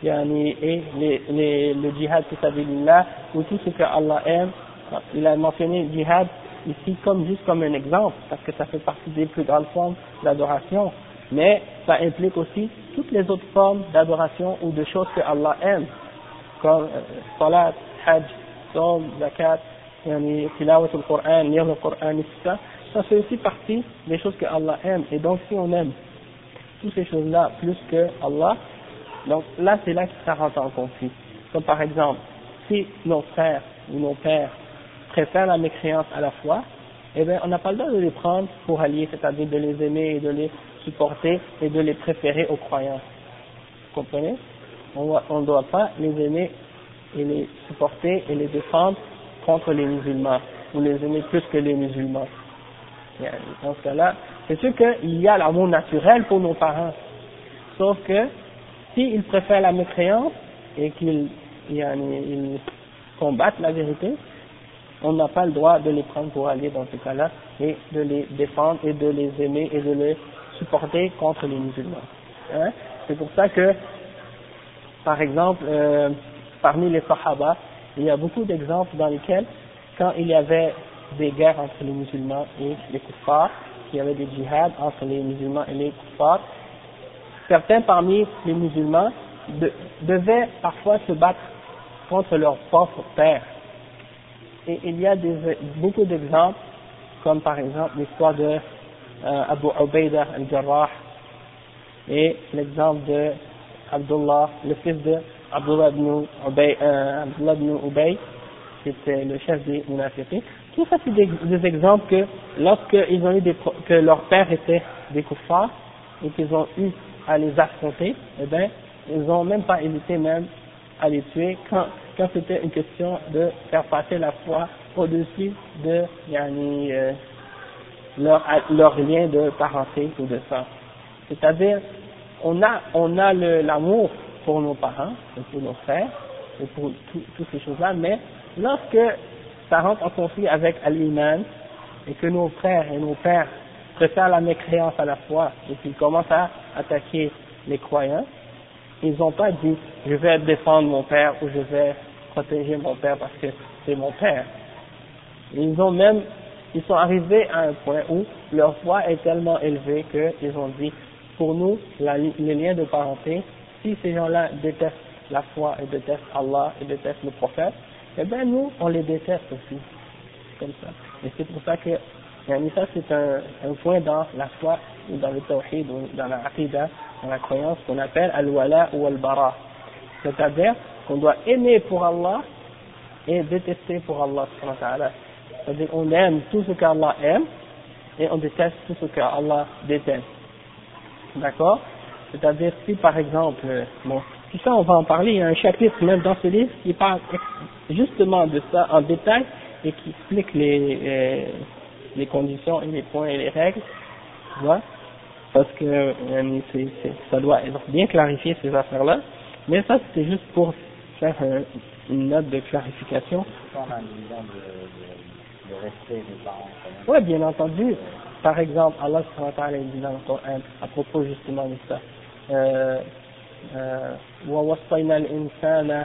le djihad fi sabilillah ou tout ce que Allah aime. Il a mentionné le djihad ici juste comme un exemple parce que ça fait partie des plus grandes formes d'adoration, mais ça implique aussi toutes les autres formes d'adoration ou de choses que Allah aime comme salat, hajj, saum, zakat, tilawat al-Qur'an, lire le Coran et tout ça. Ça fait aussi partie des choses que Allah aime. Et donc si on aime toutes ces choses-là plus que Allah, donc là c'est là que ça rentre en conflit. Comme par exemple, si nos frères ou nos pères préfèrent la mécréance à la foi, eh bien on n'a pas le droit de les prendre pour alliés, c'est-à-dire de les aimer et de les supporter et de les préférer aux croyants. Vous comprenez? On ne doit pas les aimer et les supporter et les défendre contre les musulmans, ou les aimer plus que les musulmans. Dans ce cas-là, c'est sûr qu'il y a l'amour naturel pour nos parents, sauf que s'ils préfèrent la mécréance et qu'ils combattent la vérité, on n'a pas le droit de les prendre pour aller dans ce cas-là et de les défendre et de les aimer et de les supporter contre les musulmans. C'est pour ça que, par exemple, parmi les Sahaba, il y a beaucoup d'exemples dans lesquels, quand il y avait des guerres entre les musulmans et les kuffars, il y avait des djihad entre les musulmans et les kuffars, certains parmi les musulmans devaient parfois se battre contre leur propre père. Et il y a beaucoup d'exemples, comme par exemple l'histoire de Abu Ubaida al-Jarrah, et l'exemple de Abdullah, le fils de Abdullah ibn Ubay, qui était le chef des munafiqins. Tout ça, c'est des exemples que lorsqu'ils ont eu que leur père était des kuffars et qu'ils ont eu à les affronter, eh bien, ils n'ont même pas hésité même à les tuer quand c'était une question de faire passer la foi au-dessus de leur lien de parenté ou de sang. C'est-à-dire, on a l'amour pour nos parents et pour nos frères et pour toutes ces choses-là, mais lorsque ça rentre en conflit avec l'iman et que nos frères et nos pères préfèrent la mécréance à la foi et qu'ils commencent à attaquer les croyants, ils n'ont pas dit je vais défendre mon père ou je vais protéger mon père parce que c'est mon père. Ils sont arrivés à un point où leur foi est tellement élevée qu'ils ont dit pour nous les liens de parenté, si ces gens-là détestent la foi et détestent Allah et détestent le prophète, eh bien nous on les déteste aussi, comme ça. Et c'est pour ça que ça c'est un point dans la foi ou dans le tawhid ou dans la aqidah, dans la croyance qu'on appelle al-wala ou al-bara, c'est-à-dire qu'on doit aimer pour Allah et détester pour Allah subhanahu wa ta'ala. C'est-à-dire on aime tout ce qu'Allah aime et on déteste tout ce qu'Allah déteste. D'accord? C'est-à-dire si par exemple, tout ça on va en parler, il y a un chapitre même dans ce livre qui parle justement de ça en détail et qui explique les conditions et les points et les règles, tu vois? Parce que ça doit être bien clarifié ces affaires-là, mais ça c'était juste pour faire une note de clarification. On a une vision de respect des parents quand même. Oui, bien entendu. Par exemple, Allah subhanahu wa ta'ala dit dans le Coran à propos justement de ça. وَوَصَّيْنَا الْإِنسَانَ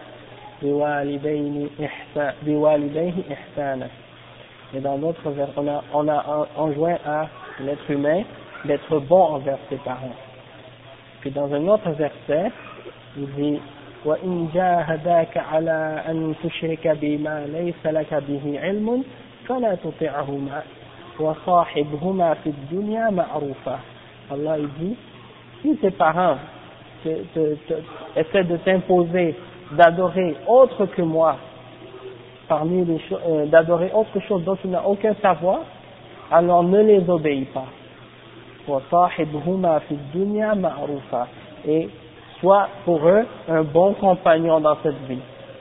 بِوَالِدَيْهِ إِحْسَانًا. Et dans d'autres versets, on a enjoint à l'être humain d'être bon envers ses parents. Puis dans un autre verset, il dit وَإِنْ جَاهَدَاكَ عَلَىٰ أَنْ تُشْرِكَ بِمَا لَيْسَ لَكَ بِهِ عِلْمٌ فَلَا تُطِعْهُمَا وَصَاحِبْهُمَا فِي الدُّنْيَا مَعْرُوفًا. Allah il dit, si tes parents essaient de t'imposer d'adorer autre que moi, parmi les choses, d'adorer autre chose dont tu n'as aucun savoir, alors ne les obéis pas. وَصَاحِبْهُمَا فِي الدُّنْيَا مَعْرُوفًا. Et sois pour eux un bon compagnon dans cette vie.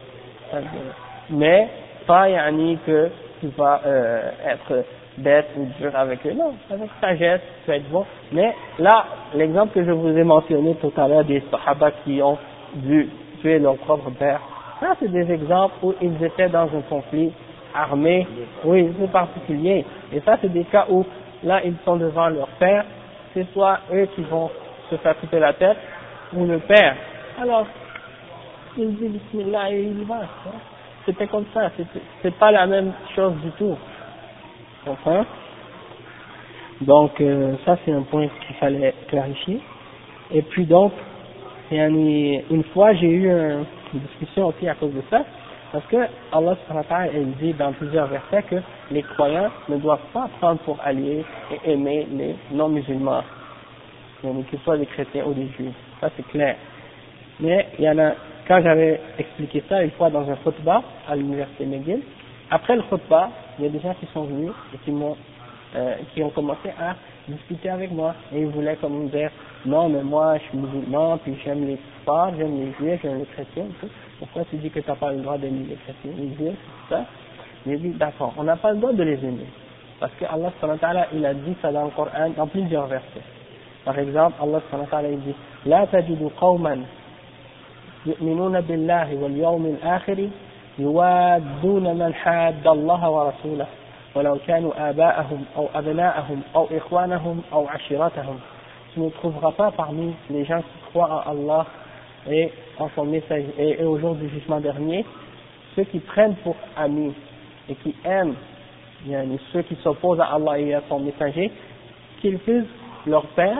Mais pas que tu vas être bête ou dur avec eux, non, avec sagesse, tu vas être bon. Mais là, l'exemple que je vous ai mentionné tout à l'heure des Sahaba qui ont dû tuer leur propre père, ça c'est des exemples où ils étaient dans un conflit armé, oui, c'est particulier. Et ça c'est des cas où là ils sont devant leur père, c'est soit eux qui vont se faire couper la tête ou le père. Alors, il dit Bismillah et il va. C'était comme ça, c'est pas la même chose du tout. Enfin, donc ça c'est un point qu'il fallait clarifier. Et puis donc, une fois j'ai eu une discussion aussi à cause de ça, parce que Allah subhanahu wa ta'ala dit dans plusieurs versets que les croyants ne doivent pas prendre pour alliés et aimer les non-musulmans, qu'ils soient des chrétiens ou des juifs. Ça c'est clair. Mais il y en a, quand j'avais expliqué ça une fois dans un khutbah à l'université McGill, après le khutbah, il y a des gens qui sont venus et qui ont commencé à discuter avec moi et ils voulaient comme me dire non mais moi je suis musulman puis j'aime les kuffars, j'aime les juifs, j'aime les chrétiens et tout. Pourquoi tu dis que tu n'as pas le droit d'aimer les chrétiens, les juifs, tout ça? J'ai dit d'accord, on n'a pas le droit de les aimer parce que Allah subhanahu wa ta'ala il a dit ça dans le Coran dans plusieurs versets. Par exemple, Allah subhanahu wa ta'ala il dit لا تجد قوما يؤمنون بالله واليوم الآخر يوادون من حاد الله ورسوله ولو كانوا آباءهم أو أبناءهم أو إخوانهم أو عشيرتهم. Tu ne trouveras pas parmi les gens qui croient en Allah et en son message et au jour du jugement dernier ceux qui prennent pour amis et qui aiment ceux qui s'opposent à Allah et à son messager, qu'ils fussent leur père,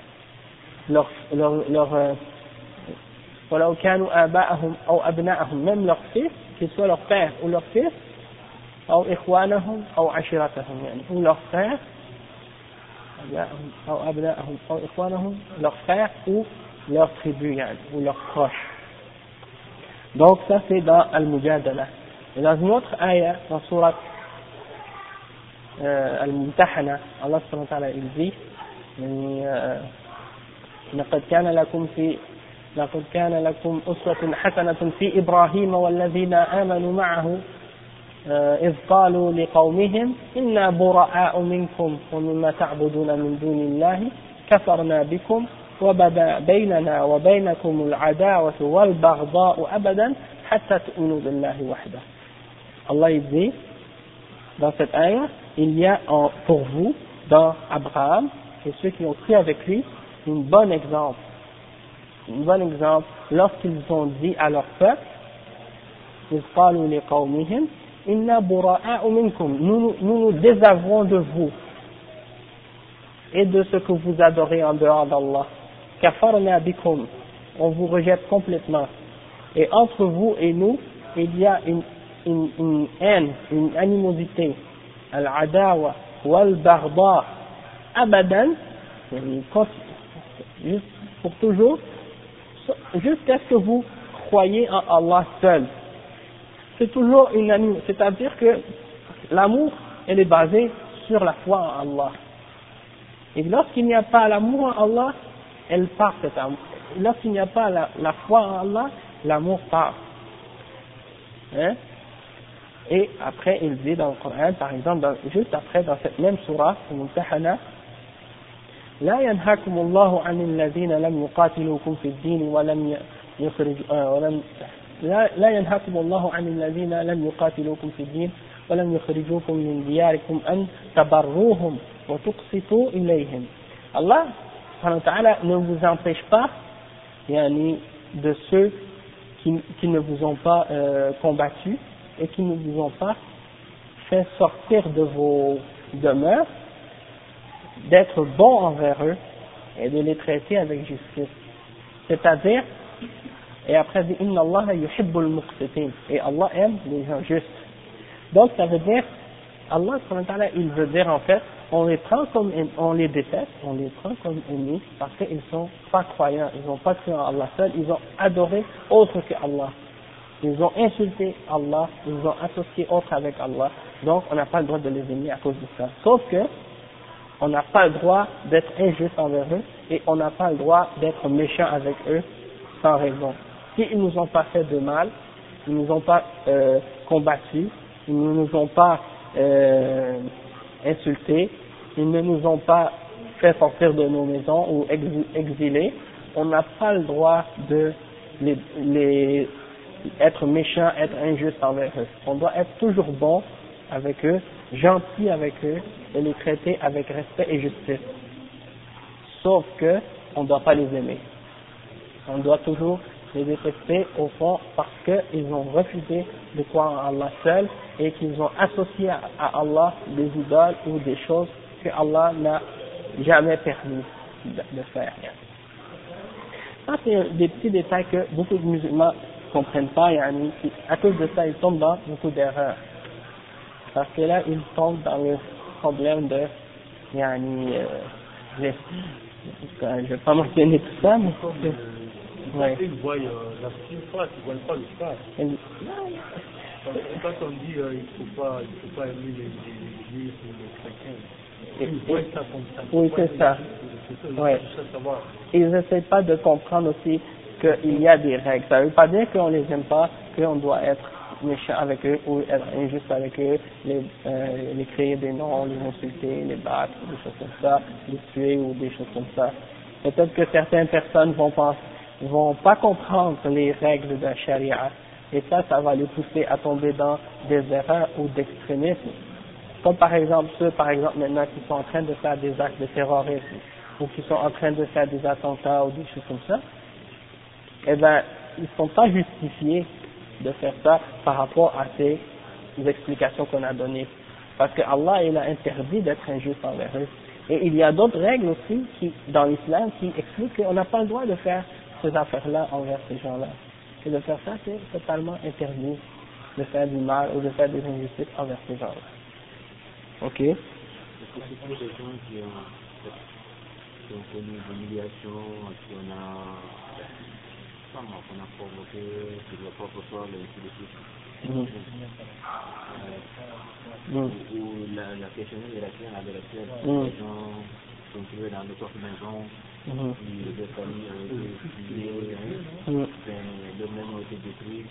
ولو كانوا آباءهم أو أبناءهم, même leurs fils, qu'ils soient leur père ou leur fils, أو إخوانهم أو عشيرتهم, ou leurs frères, leurs frères ou leur tribu, ou leurs proches. Donc ça c'est dans Al-Mujadala. Et dans une autre ayah, dans Surat Al-Mumtahana, Allah subhanahu wa ta'ala il dit لقد كان لكم أسوة حسنة في إبراهيم والذين آمنوا معه إذ قالوا لقومهم إنا براء منكم ومما تعبدون من دون الله كفرنا بكم وبدا بيننا وبينكم العداوة والبغضاء أبدا حتى تؤمنوا بالله وحده. Allah il dit dans cette ayah, il y a pour vous dans Abraham et ceux qui ont cru avec lui un bon exemple lorsqu'ils ont dit à leur peuple إذ قالوا لقومهم إنا براء منكم, nous nous désavouons de vous et de ce que vous adorez en dehors d'Allah. Kafarna bikum, on vous rejette complètement. Et entre vous et nous, il y a une haine, une animosité, al-adawa wal-baghdha abadan, juste pour toujours, jusqu'à ce que vous croyez en Allah seul. C'est toujours une animosité, c'est-à-dire que l'amour, elle est basée sur la foi en Allah. Et lorsqu'il n'y a pas l'amour en Allah, elle part cet amour. Lorsqu'il n'y a pas la foi en Allah, l'amour part. Hein? Et après, il dit dans le Coran, par exemple, juste après, dans cette même surah, Al-Mumtahana, لا ينهاكم الله عن الذين لم يقاتلوكم في الدين لا ينهاكم الله عن الذين لم يقاتلوكم في الدين ولم يخرجوكم من دياركم أن تبروهم وتقسطوا إليهم. Allah subhanahu wa ta'ala ne vous empêche pas de ceux qui ne vous ont pas combattu et qui ne vous ont pas fait sortir de vos demeures, d'être bons envers eux et de les traiter avec justice. C'est-à-dire, et après dit Inna Allah yuhibbul muqsitin, et Allah aime les gens justes. Donc ça veut dire, Allah subhanahu wa ta'ala, il veut dire en fait, on les prend comme, on les déteste, on les prend comme ennemis parce qu'ils sont pas croyants, ils n'ont pas cru en Allah seul, ils ont adoré autre que Allah. Ils ont insulté Allah, ils ont associé autre avec Allah. Donc on n'a pas le droit de les aimer à cause de ça. Sauf que on n'a pas le droit d'être injuste envers eux et on n'a pas le droit d'être méchant avec eux sans raison. S'ils ne nous ont pas fait de mal, ils ne nous ont pas combattus, ils ne nous ont pas insultés, ils ne nous ont pas fait sortir de nos maisons ou exilés, on n'a pas le droit de les être méchant, être injuste envers eux. On doit être toujours bon avec eux, gentil avec eux et les traiter avec respect et justice. Sauf que on ne doit pas les aimer. On doit toujours les détester au fond parce qu'ils ont refusé de croire en Allah seul et qu'ils ont associé à Allah des idoles ou des choses que Allah n'a jamais permis de faire. Ça c'est des petits détails que beaucoup de musulmans ne comprennent pas et à cause de ça ils tombent dans beaucoup d'erreurs. Parce que là ils tombent dans le problème de je ne vais pas mentionner tout ça, mais ouais. Ils voient la petite phrase, ils ne voient pas le phrase. Quand on dit il ne faut pas aimer les juifs ou les chrétiens, ils voient ça comme ça. Oui, c'est ça. Ouais. Ils n'essaient pas de comprendre aussi qu'il y a des règles. Ça ne veut pas dire qu'on ne les aime pas, qu'on doit être méchant avec eux ou être injuste avec eux, les créer des noms, les insulter, les battre, des choses comme ça, les tuer ou des choses comme ça. Peut-être que certaines personnes vont pas comprendre les règles de la charia et ça va les pousser à tomber dans des erreurs ou d'extrémisme. Comme par exemple ceux maintenant qui sont en train de faire des actes de terrorisme ou qui sont en train de faire des attentats ou des choses comme ça, eh ben ils sont pas justifiés de faire ça par rapport à ces explications qu'on a données. Parce que Allah il a interdit d'être injuste envers eux. Et il y a d'autres règles aussi dans l'islam qui expliquent qu'on n'a pas le droit de faire ces affaires-là envers ces gens-là. Et de faire ça, c'est totalement interdit de faire du mal ou de faire des injustices envers ces gens-là. Ok? Est-ce que c'est pour des gens qui ont connu l'humiliation, qu'on a provoqué sur leur propre sol et ainsi de suite. Ou la question de la chaîne avec laquelle les gens sont trouvés dans le propre maison, les familles ont été tuées, le même ont été détruits.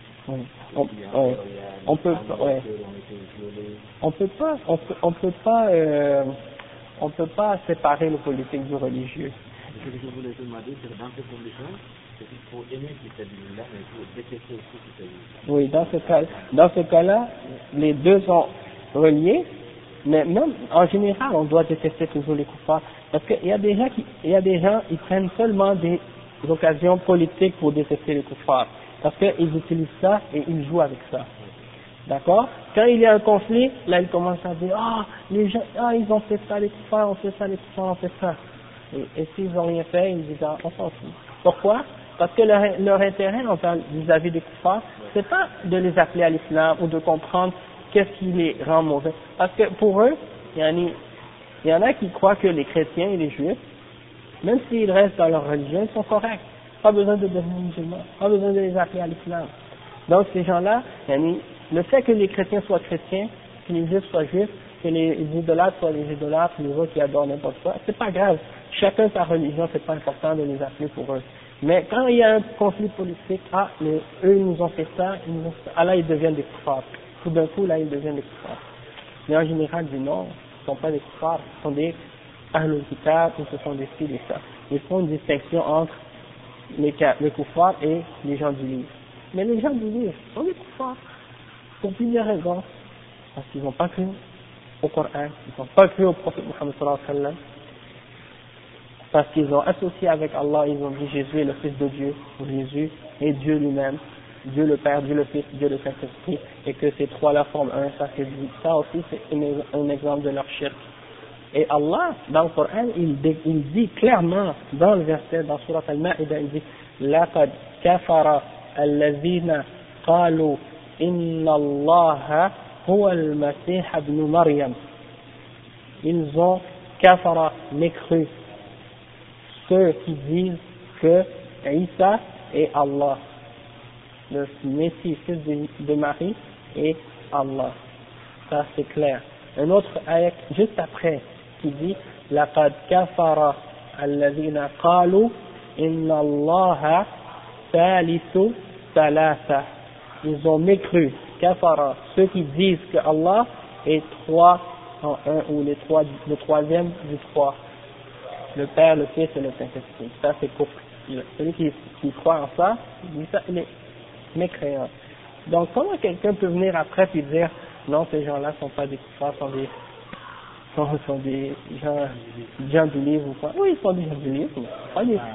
On peut pas séparer le politique du religieux. Ce que je voulais te demander, c'est que dans ces conditions, c'est qu'il faut aimer cette là mais il faut détester aussi cette là. Oui, dans ce cas-là, les deux sont reliés, mais même en général, on doit détester toujours les kuffars, parce qu'il y a des gens, ils prennent seulement des occasions politiques pour détester les kuffars, parce qu'ils utilisent ça et ils jouent avec ça. D'accord? Quand il y a un conflit, là ils commencent à dire les gens, ils ont fait ça, les kuffars ont fait ça, les kuffars ont fait ça. Et s'ils n'ont rien fait, ils disent on s'en fout. Pourquoi? Parce que leur intérêt vis-à-vis des kuffars, c'est pas de les appeler à l'islam ou de comprendre qu'est-ce qui les rend mauvais. Parce que pour eux, il y en a qui croient que les chrétiens et les juifs, même s'ils restent dans leur religion, ils sont corrects. Pas besoin de devenir musulmans, pas besoin de les appeler à l'islam. Donc ces gens-là, le fait que les chrétiens soient chrétiens, que les juifs soient juifs, que les idolâtres soient les idolâtres, les autres qui adorent n'importe quoi, c'est pas grave. Chacun sa religion, c'est pas important de les appeler pour eux. Mais quand il y a un conflit politique, eux ils nous ont fait ça, là ils deviennent des kuffars. Tout d'un coup, là ils deviennent des kuffars. Mais en général, ils disent non, ce ne sont pas des kuffars, ce sont des ahlul kitab, ou ce sont des ci, des ça. Ils font une distinction entre les kuffars et les gens du livre. Mais les gens du livre sont des kuffars, pour plusieurs raisons. Parce qu'ils n'ont pas cru au Coran, ils n'ont pas cru au prophète Muhammad sallallahu alayhi wa sallam, parce qu'ils ont associé avec Allah, ils ont dit Jésus est le Fils de Dieu, ou Jésus est Dieu lui-même, Dieu le Père, Dieu le Fils, Dieu le Saint-Esprit, et que ces trois-là forment un, ça aussi c'est un exemple de leur shirk. Et Allah, dans le Coran, il dit clairement, dans le verset, dans Surat Al-Ma'ida, il dit لَقَدْ كَفَرَ الَّذِينَ قَالُوا إِنَّ اللَّهَ هُوَ الْمَسِيحَ ابْنُ مَرْيَمَ. Ils ont kafara, mécru, ceux qui disent que Isa est Allah, le Messie, fils de Marie, est Allah. Ça c'est clair. Un autre ayat juste après qui dit لَقَدْ كَفَرَ الَّذِينَ قَالُوا إِنَّ اللَّهَ ثَالِثُ ثَلَاثَةٍ. Ils ont mécru, kafara, ceux qui disent que Allah est trois en un, ou le troisième du trois. Le Père, le Fils et le Saint-Esprit. Ça c'est kufr. Celui qui croit en ça, il est mécréant. Donc comment quelqu'un peut venir après et dire non, ces gens-là sont pas des kuffars, sont des gens du livre ou quoi? Oui, ils sont des gens du livre, mais pas des...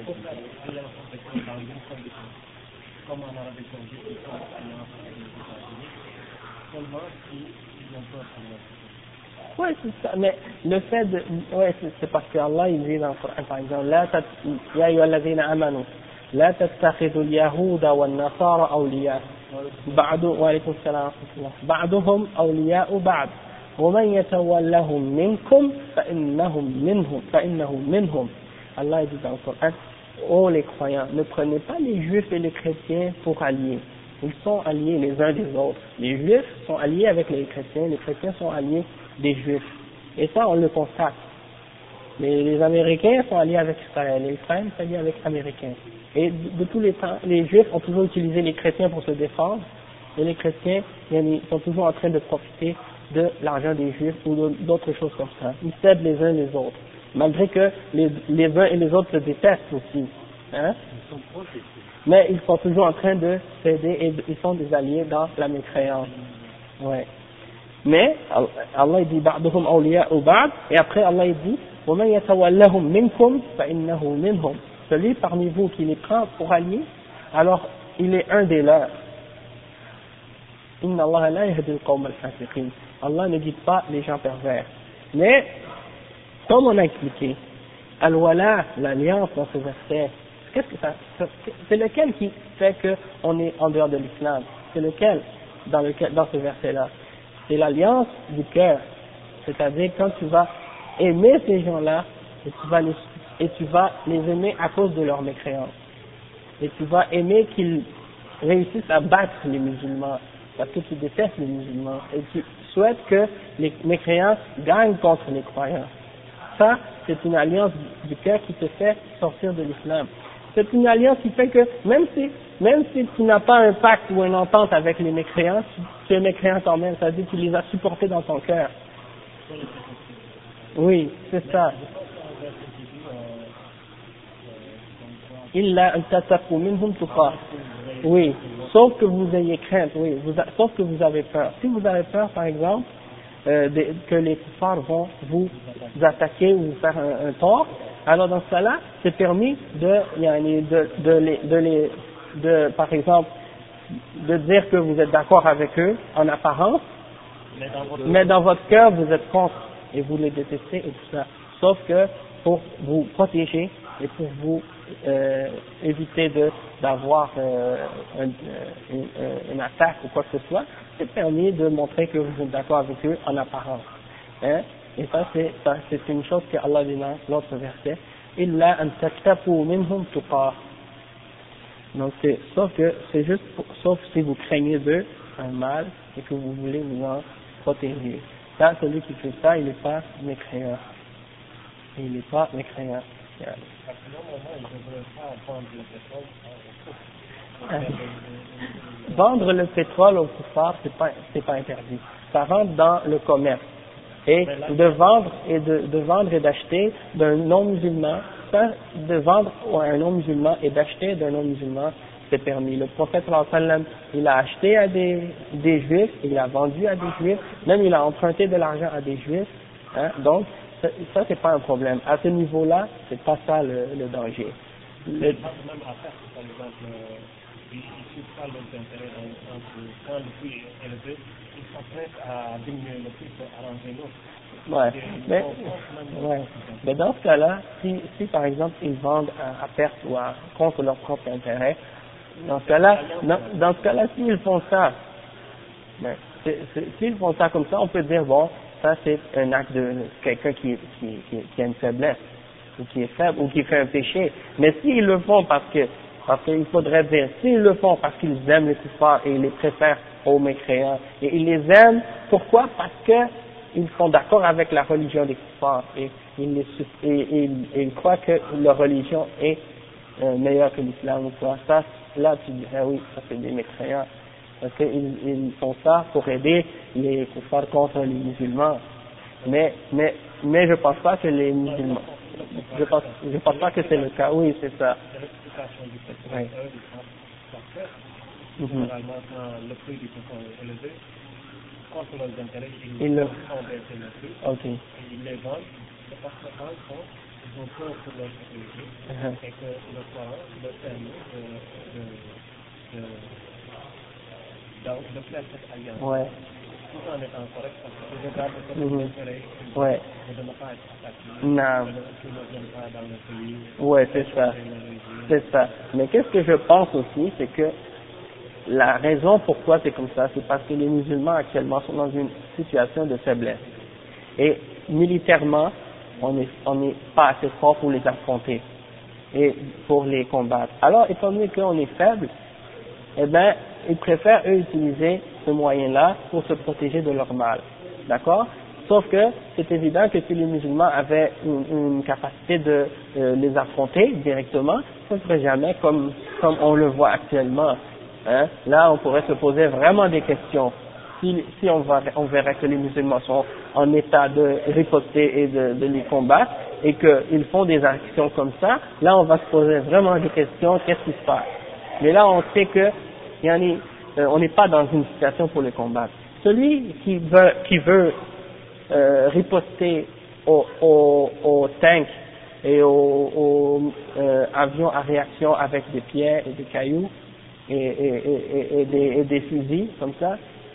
Comme en Arabie Saoudite, ils sont alliance avec les États-Unis, seulement s'ils n'ont pas alliance. Oui, c'est ça, mais le fait de... Oui, c'est parce que Allah, il dit dans le Coran, par exemple, Ya ayyuhalladhina amanu, la tattakhidhu al-yahuda wan-nasara awliya, وعليكم السلام ورحمة الله, بعضهم أولياء بعض, ومن يتولهم منكم فإنه منهم. Allah dit dans le Coran, oh les croyants, ne prenez pas les juifs et les chrétiens pour alliés. Ils sont alliés les uns des autres. Les juifs sont alliés avec les chrétiens sont alliés des juifs. Et ça, on le constate. Les Américains sont alliés avec Israël, et Israël est allié avec les Américains. Et de tous les temps, les Juifs ont toujours utilisé les chrétiens pour se défendre, et les chrétiens ils sont toujours en train de profiter de l'argent des Juifs ou d'autres choses comme ça. Ils s'aident les uns les autres, malgré que les uns et les autres se détestent aussi. Hein? Mais ils sont toujours en train de s'aider et ils sont des alliés dans la mécréance. Ouais. Mais Allah dit ba'duhum awliya'u ba'd, et après Allah dit وَمَنْ يَتَوَلَّهُمْ مِنْكُمْ فَإِنَّهُ مِنْهُمْ. Celui parmi vous qui les prend pour alliés, alors il est un des leurs. Inna Allah la yahdi al-qawm al-fasiqin. Allah ne guide pas les gens pervers. Mais comme on a expliqué, al-wala, l'alliance dans ce verset, qu'est-ce que ça, c'est lequel qui fait qu'on est en dehors de l'islam? C'est lequel dans ce verset-là? C'est l'alliance du cœur, c'est-à-dire quand tu vas aimer ces gens-là et tu vas les aimer à cause de leur mécréance. Et tu vas aimer qu'ils réussissent à battre les musulmans, parce que tu détestes les musulmans, et tu souhaites que les mécréants gagnent contre les croyants. Ça, c'est une alliance du cœur qui te fait sortir de l'islam. C'est une alliance qui fait que même si tu n'as pas un pacte ou une entente avec les mécréants, tu es mécréant quand même, c'est-à-dire que tu les as supportés dans ton cœur. Oui, c'est ça. Illa an tattaqu minhum tuqah. Oui, sauf que vous ayez crainte, oui, sauf que vous avez peur. Si vous avez peur, par exemple, que les kuffars vont vous attaquer ou vous faire un tort, alors dans ce cas-là, c'est permis par exemple, de dire que vous êtes d'accord avec eux en apparence, mais dans votre cœur vous êtes contre et vous les détestez et tout ça. Sauf que pour vous protéger et pour vous éviter d'avoir une attaque ou quoi que ce soit, c'est permis de montrer que vous êtes d'accord avec eux en apparence. Hein? Et ça c'est une chose que Allah dit dans l'autre verset. Illa an tattaqu minhum tuqah. Donc c'est juste sauf si vous craignez d'eux un mal et que vous voulez vous en protéger. Ça, celui qui fait ça, il n'est pas mécréant. Il n'est pas mécréant. Yeah. Vendre le pétrole au kuffar, c'est pas interdit. Ça rentre dans le commerce. Et de vendre et d'acheter d'un non-musulman, de vendre à un non-musulman et d'acheter d'un non-musulman, c'est permis. Le prophète sallallahu alayhi wa sallam, il a acheté à des juifs, il a vendu à des juifs, même il a emprunté de l'argent à des juifs, hein, donc ça c'est pas un problème. À ce niveau-là, c'est pas ça le danger. Même à faire, par exemple, ils ne pas les intérêts dans le sens où quand le prix est élevé, ils sont prêts à diminuer le prix pour arranger l'autre. Mais dans ce cas-là, si par exemple ils vendent à perte ou contre leur propre intérêt, dans ce cas-là, s'ils font ça, s'ils font ça comme ça, on peut dire bon, ça c'est un acte de quelqu'un qui a une faiblesse, ou qui est faible, ou qui fait un péché. Mais s'ils le font parce qu'il faudrait dire, s'ils le font parce qu'ils aiment les kuffars et ils les préfèrent aux mécréants, et ils les aiment, pourquoi? Parce que ils sont d'accord avec la religion des kuffars et ils croient que leur religion est meilleure que l'islam ou quoi. Ça, là tu dirais oui, ça c'est des mécréants. Parce qu'ils font ça pour aider les kuffars contre les musulmans. Mais je pense pas que les musulmans, je pense pas que c'est le cas. Oui, c'est ça. Oui. Généralement, quand le prix du pétrole est élevé, contre leurs intérêts, ils le font baisser le prix. Ok. Et ils les vendent, c'est parce que dans le fond, ils ont peur pour leur sécurité, et que le Coran leur permet de faire cette alliance. Ouais. Tout en étant correct, parce que je regarde que les intérêts de ne pas être attaqués, de ne viennent pas dans le pays. Ouais, c'est ça. Mais qu'est-ce que je pense aussi, c'est que la raison pourquoi c'est comme ça, c'est parce que les musulmans actuellement sont dans une situation de faiblesse. Et militairement, on n'est pas assez fort pour les affronter et pour les combattre. Alors, étant donné qu'on est faible, eh ben, ils préfèrent eux utiliser ce moyen-là pour se protéger de leur mal. D'accord? Sauf que c'est évident que si les musulmans avaient une capacité de les affronter directement, ce ne serait jamais comme on le voit actuellement. Hein? Là, on pourrait se poser vraiment des questions. Si on verrait que les musulmans sont en état de riposter et de les combattre, et qu'ils font des actions comme ça, là, on va se poser vraiment des questions, qu'est-ce qui se passe? Mais là, on sait que on n'est pas dans une situation pour les combattre. Celui qui veut riposter aux tanks et aux avions à réaction avec des pierres et des cailloux et des fusils comme ça,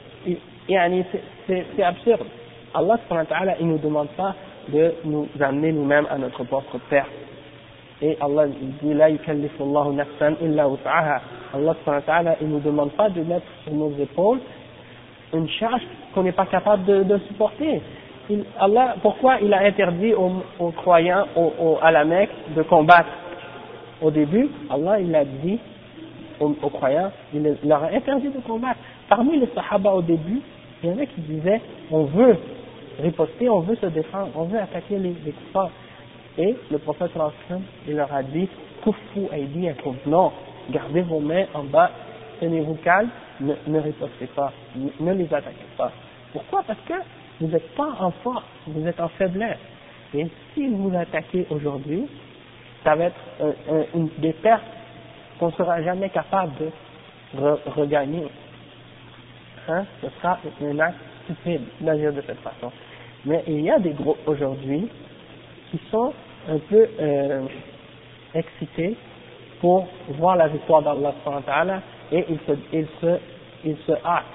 c'est absurde. Allah subhanahu wa ta'ala, il nous demande pas de nous amener nous-mêmes à notre propre perte. Et Allah dit la yukallifu Allahu nafsan illa wus'aha. Allah subhanahu wa ta'ala, il nous demande pas de mettre sur nos épaules une charge qu'on n'est pas capable de supporter. Allah, pourquoi il a interdit aux croyants à la Mecque de combattre? Au début, Allah il a dit aux croyants, il leur a interdit de combattre. Parmi les Sahaba au début, il y en a qui disaient on veut riposter, on veut se défendre, on veut attaquer les kuffars. Et le prophète sallallahu alayhi wa sallam, il leur a dit Kuffu aydiyakum, non, gardez vos mains en bas, tenez-vous calme, ne ripostez pas, ne les attaquez pas. Pourquoi? Parce que vous n'êtes pas en force, vous êtes en faiblesse. Et si vous attaquez aujourd'hui, ça va être des pertes qu'on ne sera jamais capable de regagner. Hein? Ce sera un acte stupide d'agir de cette façon. Mais il y a des groupes aujourd'hui qui sont un peu excités pour voir la victoire d'Allah subhanahu wa ta'ala et ils se hâtent,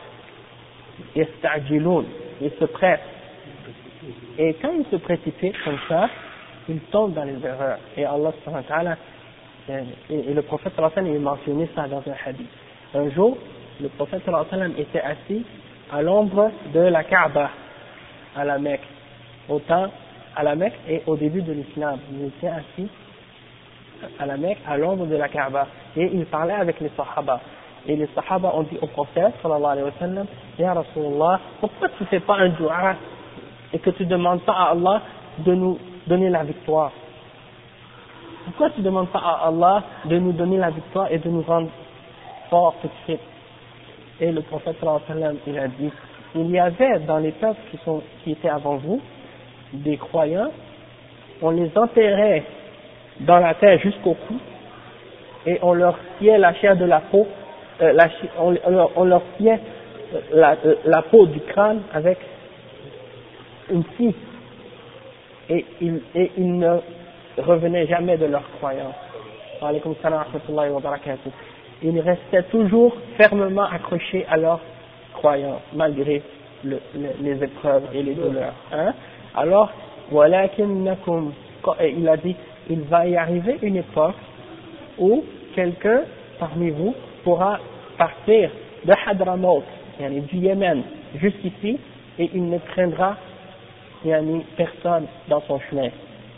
ils se pressent. Et quand ils se précipitent comme ça, ils tombent dans les erreurs. Et Allah subhanahu wa ta'ala, et le prophète sallallahu alayhi wa sallam, il mentionnait ça dans un hadith. Un jour, le prophète sallallahu alayhi wa sallam était assis à l'ombre de la Kaaba, à la Mecque, à la Mecque et au début de l'islam. Il était assis à la Mecque, à l'ombre de la Kaaba, et il parlait avec les Sahaba. Et les Sahaba ont dit au prophète sallallahu alayhi wa sallam, Ya Rasulullah, pourquoi tu ne fais pas un dua et que tu ne demandes pas à Allah de nous donner la victoire? Pourquoi tu ne demandes pas à Allah de nous donner la victoire et de nous rendre forts tout de suite? Et le prophète sallallahu alayhi wa sallam, il a dit, il y avait dans les peuples qui étaient avant vous, des croyants, on les enterrait dans la terre jusqu'au cou, et on leur sciait la chair de la peau, on leur sciait la peau du crâne avec une scie, et ils ne revenaient jamais de leur croyance. Wa alaykum salam wa rahmatullahi wa barakatuh. Ils restaient toujours fermement accrochés à leur croyance, malgré les épreuves et les douleurs. Hein? Alors, walakinnakum, il a dit, il va y arriver une époque où quelqu'un parmi vous pourra partir de Hadramaut, du Yémen, jusqu'ici, et il ne craindra personne dans son chemin.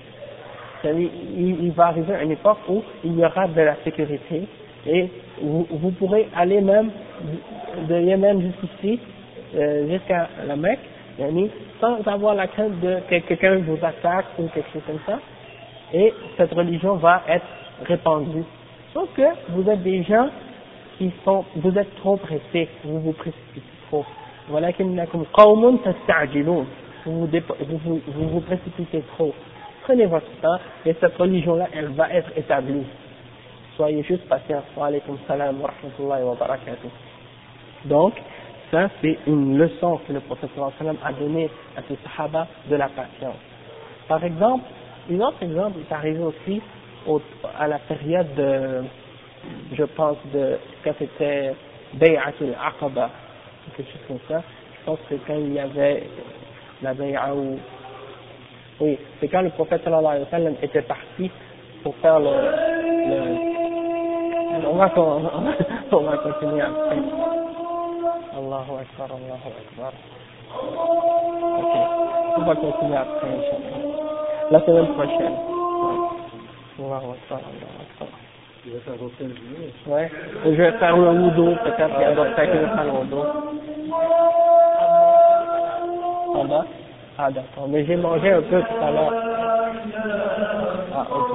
Il va arriver une époque où il y aura de la sécurité et vous pourrez aller même de Yémen jusqu'ici, jusqu'à la Mecque, sans avoir la crainte que quelqu'un vous attaque ou quelque chose comme ça, et cette religion va être répandue. Sauf que vous êtes des gens vous êtes trop pressés, vous vous précipitez trop. Walakinnakum qawmun tasta'jilun. Vous vous précipitez trop. Prenez votre temps et cette religion-là, elle va être établie. Soyez juste patients. Wa alaykum salam wa rahmatullahi wa barakatuh. Donc, ça c'est une leçon que le prophète sallallahu alayhi wa sallam a donnée à ses sahaba de la patience. Par exemple, un autre exemple est arrivé aussi à la période de, je pense, quand c'était Bay'atul Aqaba, quelque chose comme ça. Je pense que quand il y avait la Bay'a où, oui, c'est quand le prophète sallallahu alayhi wa sallam était parti pour faire on va continuer après. Allahu Akbar, Allahu Akbar. Ok, on va continuer après, Inch'Allah. La semaine prochaine. Allahu Akbar, Allahu Akbar. Tu vas faire votre journée? Ouais, je vais faire le wudu, peut-être qu'il y a d'autres qui vont faire le wudu. En bas? Ah d'accord, mais j'ai mangé un peu tout à l'heure. Ah ok.